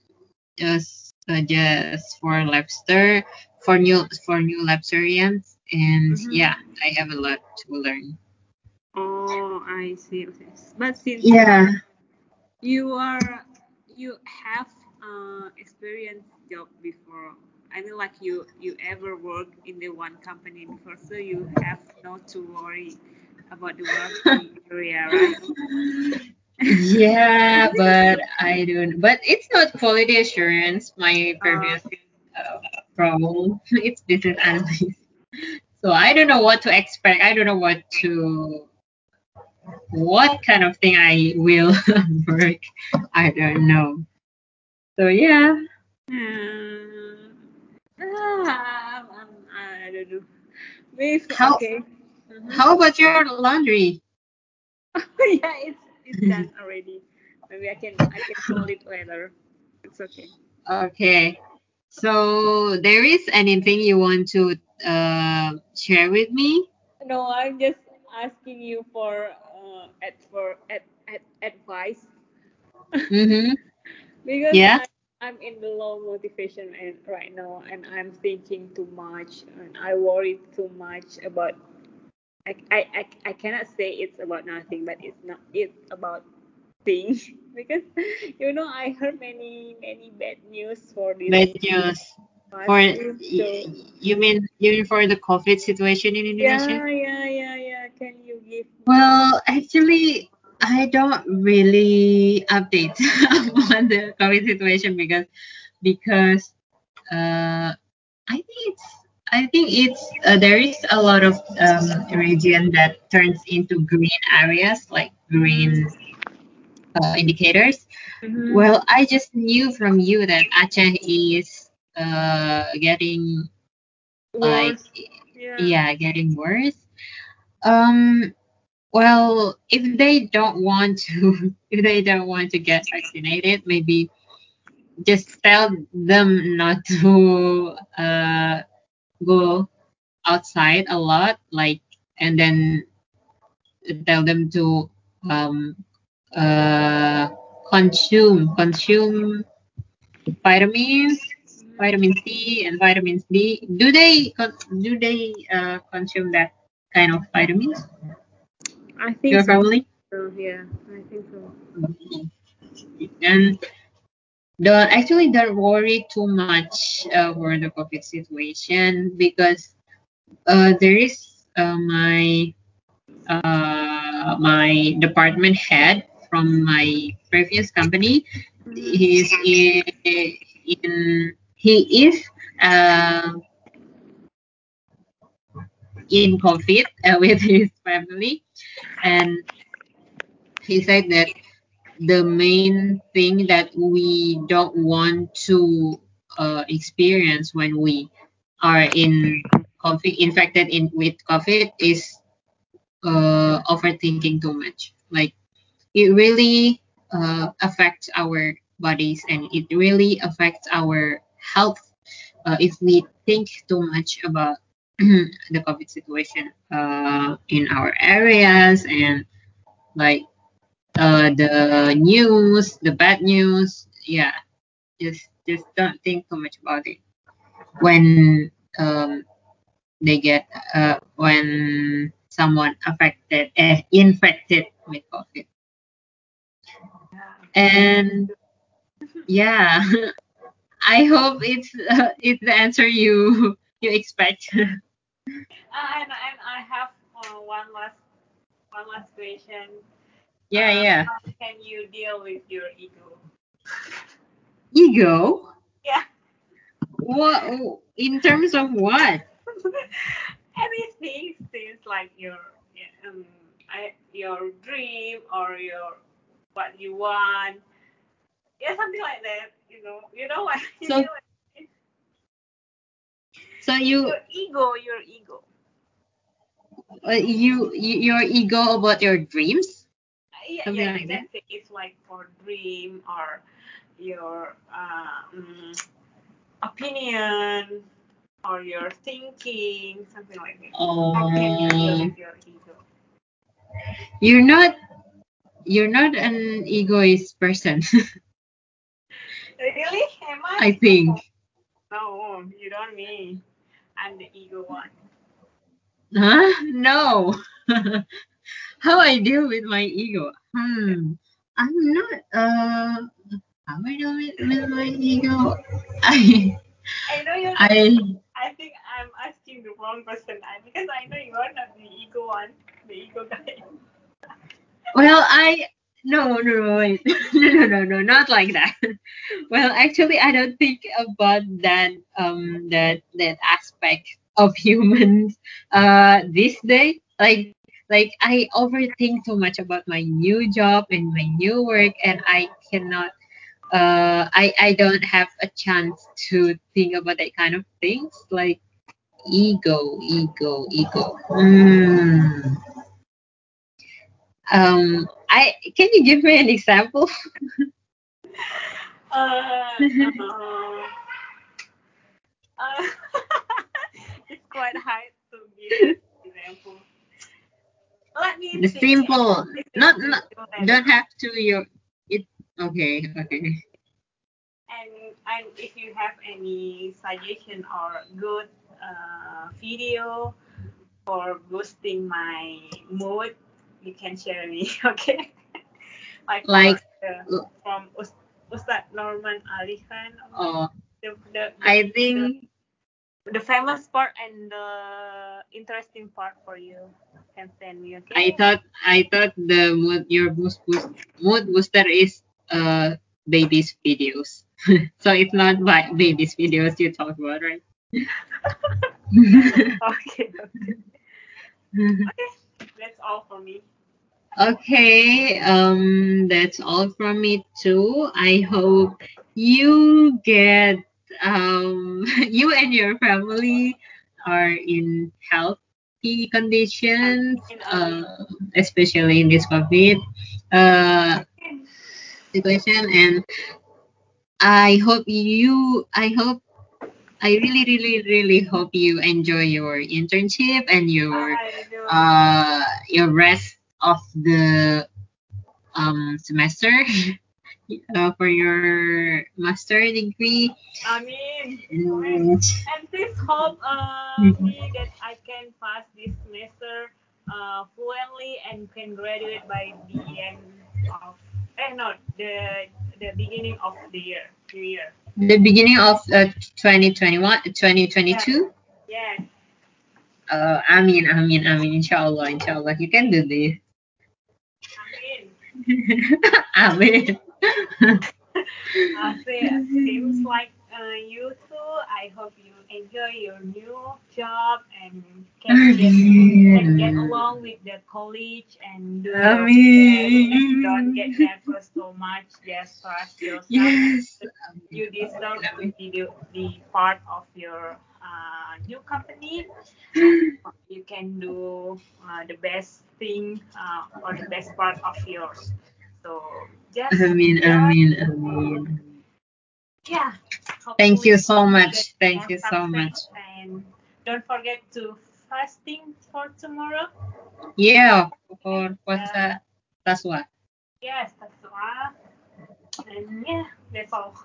S2: just for Labster for new Labsterians, and yeah,
S1: Mm-hmm.
S2: I have a lot to learn.
S1: Oh, I see. Okay. But since
S2: Yeah.
S1: you are you have experience job before, I mean like you ever work in the one company before, so you have not to worry about the work area, right?
S2: Yeah, but I don't. But it's not quality assurance. My
S1: Uh,
S2: previous role, it's business analyst. So I don't know what to expect. I don't know what kind of thing I will work. I don't know. So yeah.
S1: um, I don't know. Maybe
S2: How
S1: okay. Mm-hmm.
S2: how about your laundry?
S1: Yeah, it's done already. Maybe I can fold it later. It's okay.
S2: Okay. So there is anything you want to share with me?
S1: No, I'm just asking you for advice
S2: Mm-hmm.
S1: because
S2: Yeah.
S1: I'm in the low motivation and right now, and I'm thinking too much, and I worry too much about. I cannot say it's about nothing, but it's about things because I heard many bad news for this
S2: Bad news for
S1: past week. So
S2: you mean for the COVID situation in Indonesia?
S1: yeah. Can you give me?
S2: Well, actually, I don't really update on the COVID situation because I think it's there is a lot of region that turns into green areas like green
S1: Mm-hmm.
S2: indicators.
S1: Mm-hmm.
S2: Well, I just knew from you that Aceh is getting like
S1: Worse. Yeah.
S2: yeah getting worse. Um, well, if they don't want to if they don't want to get vaccinated, maybe just tell them not to go outside a lot, like, and then tell them to um, uh, consume vitamins, vitamin C and vitamins D. Do they consume that kind of vitamins?
S1: I think
S2: Your
S1: so.
S2: family?
S1: Yeah, I think so.
S2: And don't worry too much over the COVID situation because there is my department head from my previous company.
S1: Mm-hmm.
S2: He's he is uh, in COVID with his family, and he said that the main thing that we don't want to experience when we are in COVID, infected in with COVID, is overthinking too much. Like it really affects our bodies and it really affects our health if we think too much about the COVID situation in our areas and like the bad news. Yeah, just don't think too much about it when they get when someone infected with COVID.
S1: Yeah.
S2: And yeah, I hope it's the answer you expect.
S1: And I have one last question.
S2: Yeah, yeah.
S1: How can you deal with your ego?
S2: Ego?
S1: Yeah.
S2: What in terms of what?
S1: Anything, things like yeah, your dream or your what you want. Yeah, something like that. You know what? You
S2: So
S1: get what?
S2: so
S1: Your ego, your ego.
S2: your ego about your dreams,
S1: Yeah,
S2: something
S1: you
S2: like
S1: can
S2: that.
S1: say it's like for dream or your opinion or your thinking, something like that. How can you deal
S2: Oh,
S1: with your ego?
S2: you're not you're not an egoist person.
S1: Really? Am I?
S2: I think.
S1: No, you don't mean. I'm the ego one.
S2: Huh? No. How I deal with my ego? I'm not. How I deal with my ego? I
S1: I know you're not.
S2: I
S1: I think I'm asking the wrong person because I know you're not the ego one, the ego guy.
S2: well I No, no, wait. No, not like that. Well, actually, I don't think about that aspect of humans this day. Like I overthink too much about my new job and my new work, and I cannot. I don't have a chance to think about that kind of things like ego. I can you give me an example?
S1: Uh, uh, uh, it's quite hard to give an example. Let me
S2: The
S1: think.
S2: simple,
S1: This is
S2: not
S1: simple and
S2: don't have to your it. Okay.
S1: and if you have any suggestion or good video for boosting my mood, you can share me. Okay, like for
S2: Like,
S1: from Ustad Norman Ali Khan,
S2: uh,
S1: the the the
S2: I
S1: the
S2: think
S1: the famous part and the interesting part for you can send me.
S2: I
S1: Okay.
S2: thought I thought the mood booster is babies videos. So it's not like babies videos you talk about, right?
S1: Okay. Okay. Okay. That's all for me.
S2: Okay, that's all from me too. I hope you get you and your family are in healthy conditions,
S1: Amin.
S2: especially in this COVID uh, situation. And I really hope you enjoy your internship and
S1: I know.
S2: your rest of the semester for your master degree.
S1: Amin. Amin.
S2: And
S1: And please hope me that I can pass this semester fluently and can graduate by the end of no the beginning of the year, new year.
S2: the beginning of 2021,
S1: Yeah.
S2: 2022.
S1: Yes.
S2: Inshallah, you can do this.
S1: Amin.
S2: Amin.
S1: Seems like you too. I hope you enjoy your new job and can get
S2: Amin.
S1: along with the college and do your best and don't
S2: Amin.
S1: get nervous so much. Just trust yourself.
S2: Yes.
S1: You deserve to
S2: Amin.
S1: be the part of your new company, and you can do the best thing or the best part of yours. So just enjoy.
S2: Amin.
S1: Yeah,
S2: Thank
S1: hopefully
S2: you so
S1: you get
S2: much. Thank
S1: more
S2: you so
S1: success
S2: much.
S1: and don't forget to fasting for tomorrow.
S2: Yeah, for
S1: Yeah,
S2: puasa Taswa.
S1: yes, that's all. And yeah, that's all.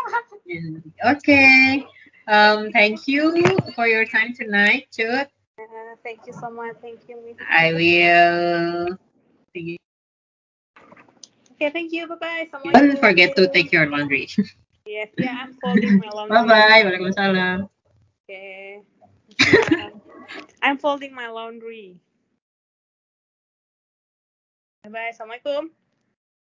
S2: Okay. Thank you for your time tonight, Jude.
S1: Thank you so much. Thank you, Miss
S2: I
S1: Ida.
S2: will.
S1: Okay, thank you. Bye bye.
S2: Don't
S1: Assalamualaikum.
S2: forget to take your laundry.
S1: Yes, yeah, I'm folding my
S2: Bye
S1: laundry.
S2: bye. Waalaikumsalam.
S1: Okay. Assalam. I'm folding my laundry. Bye bye. Assalamualaikum.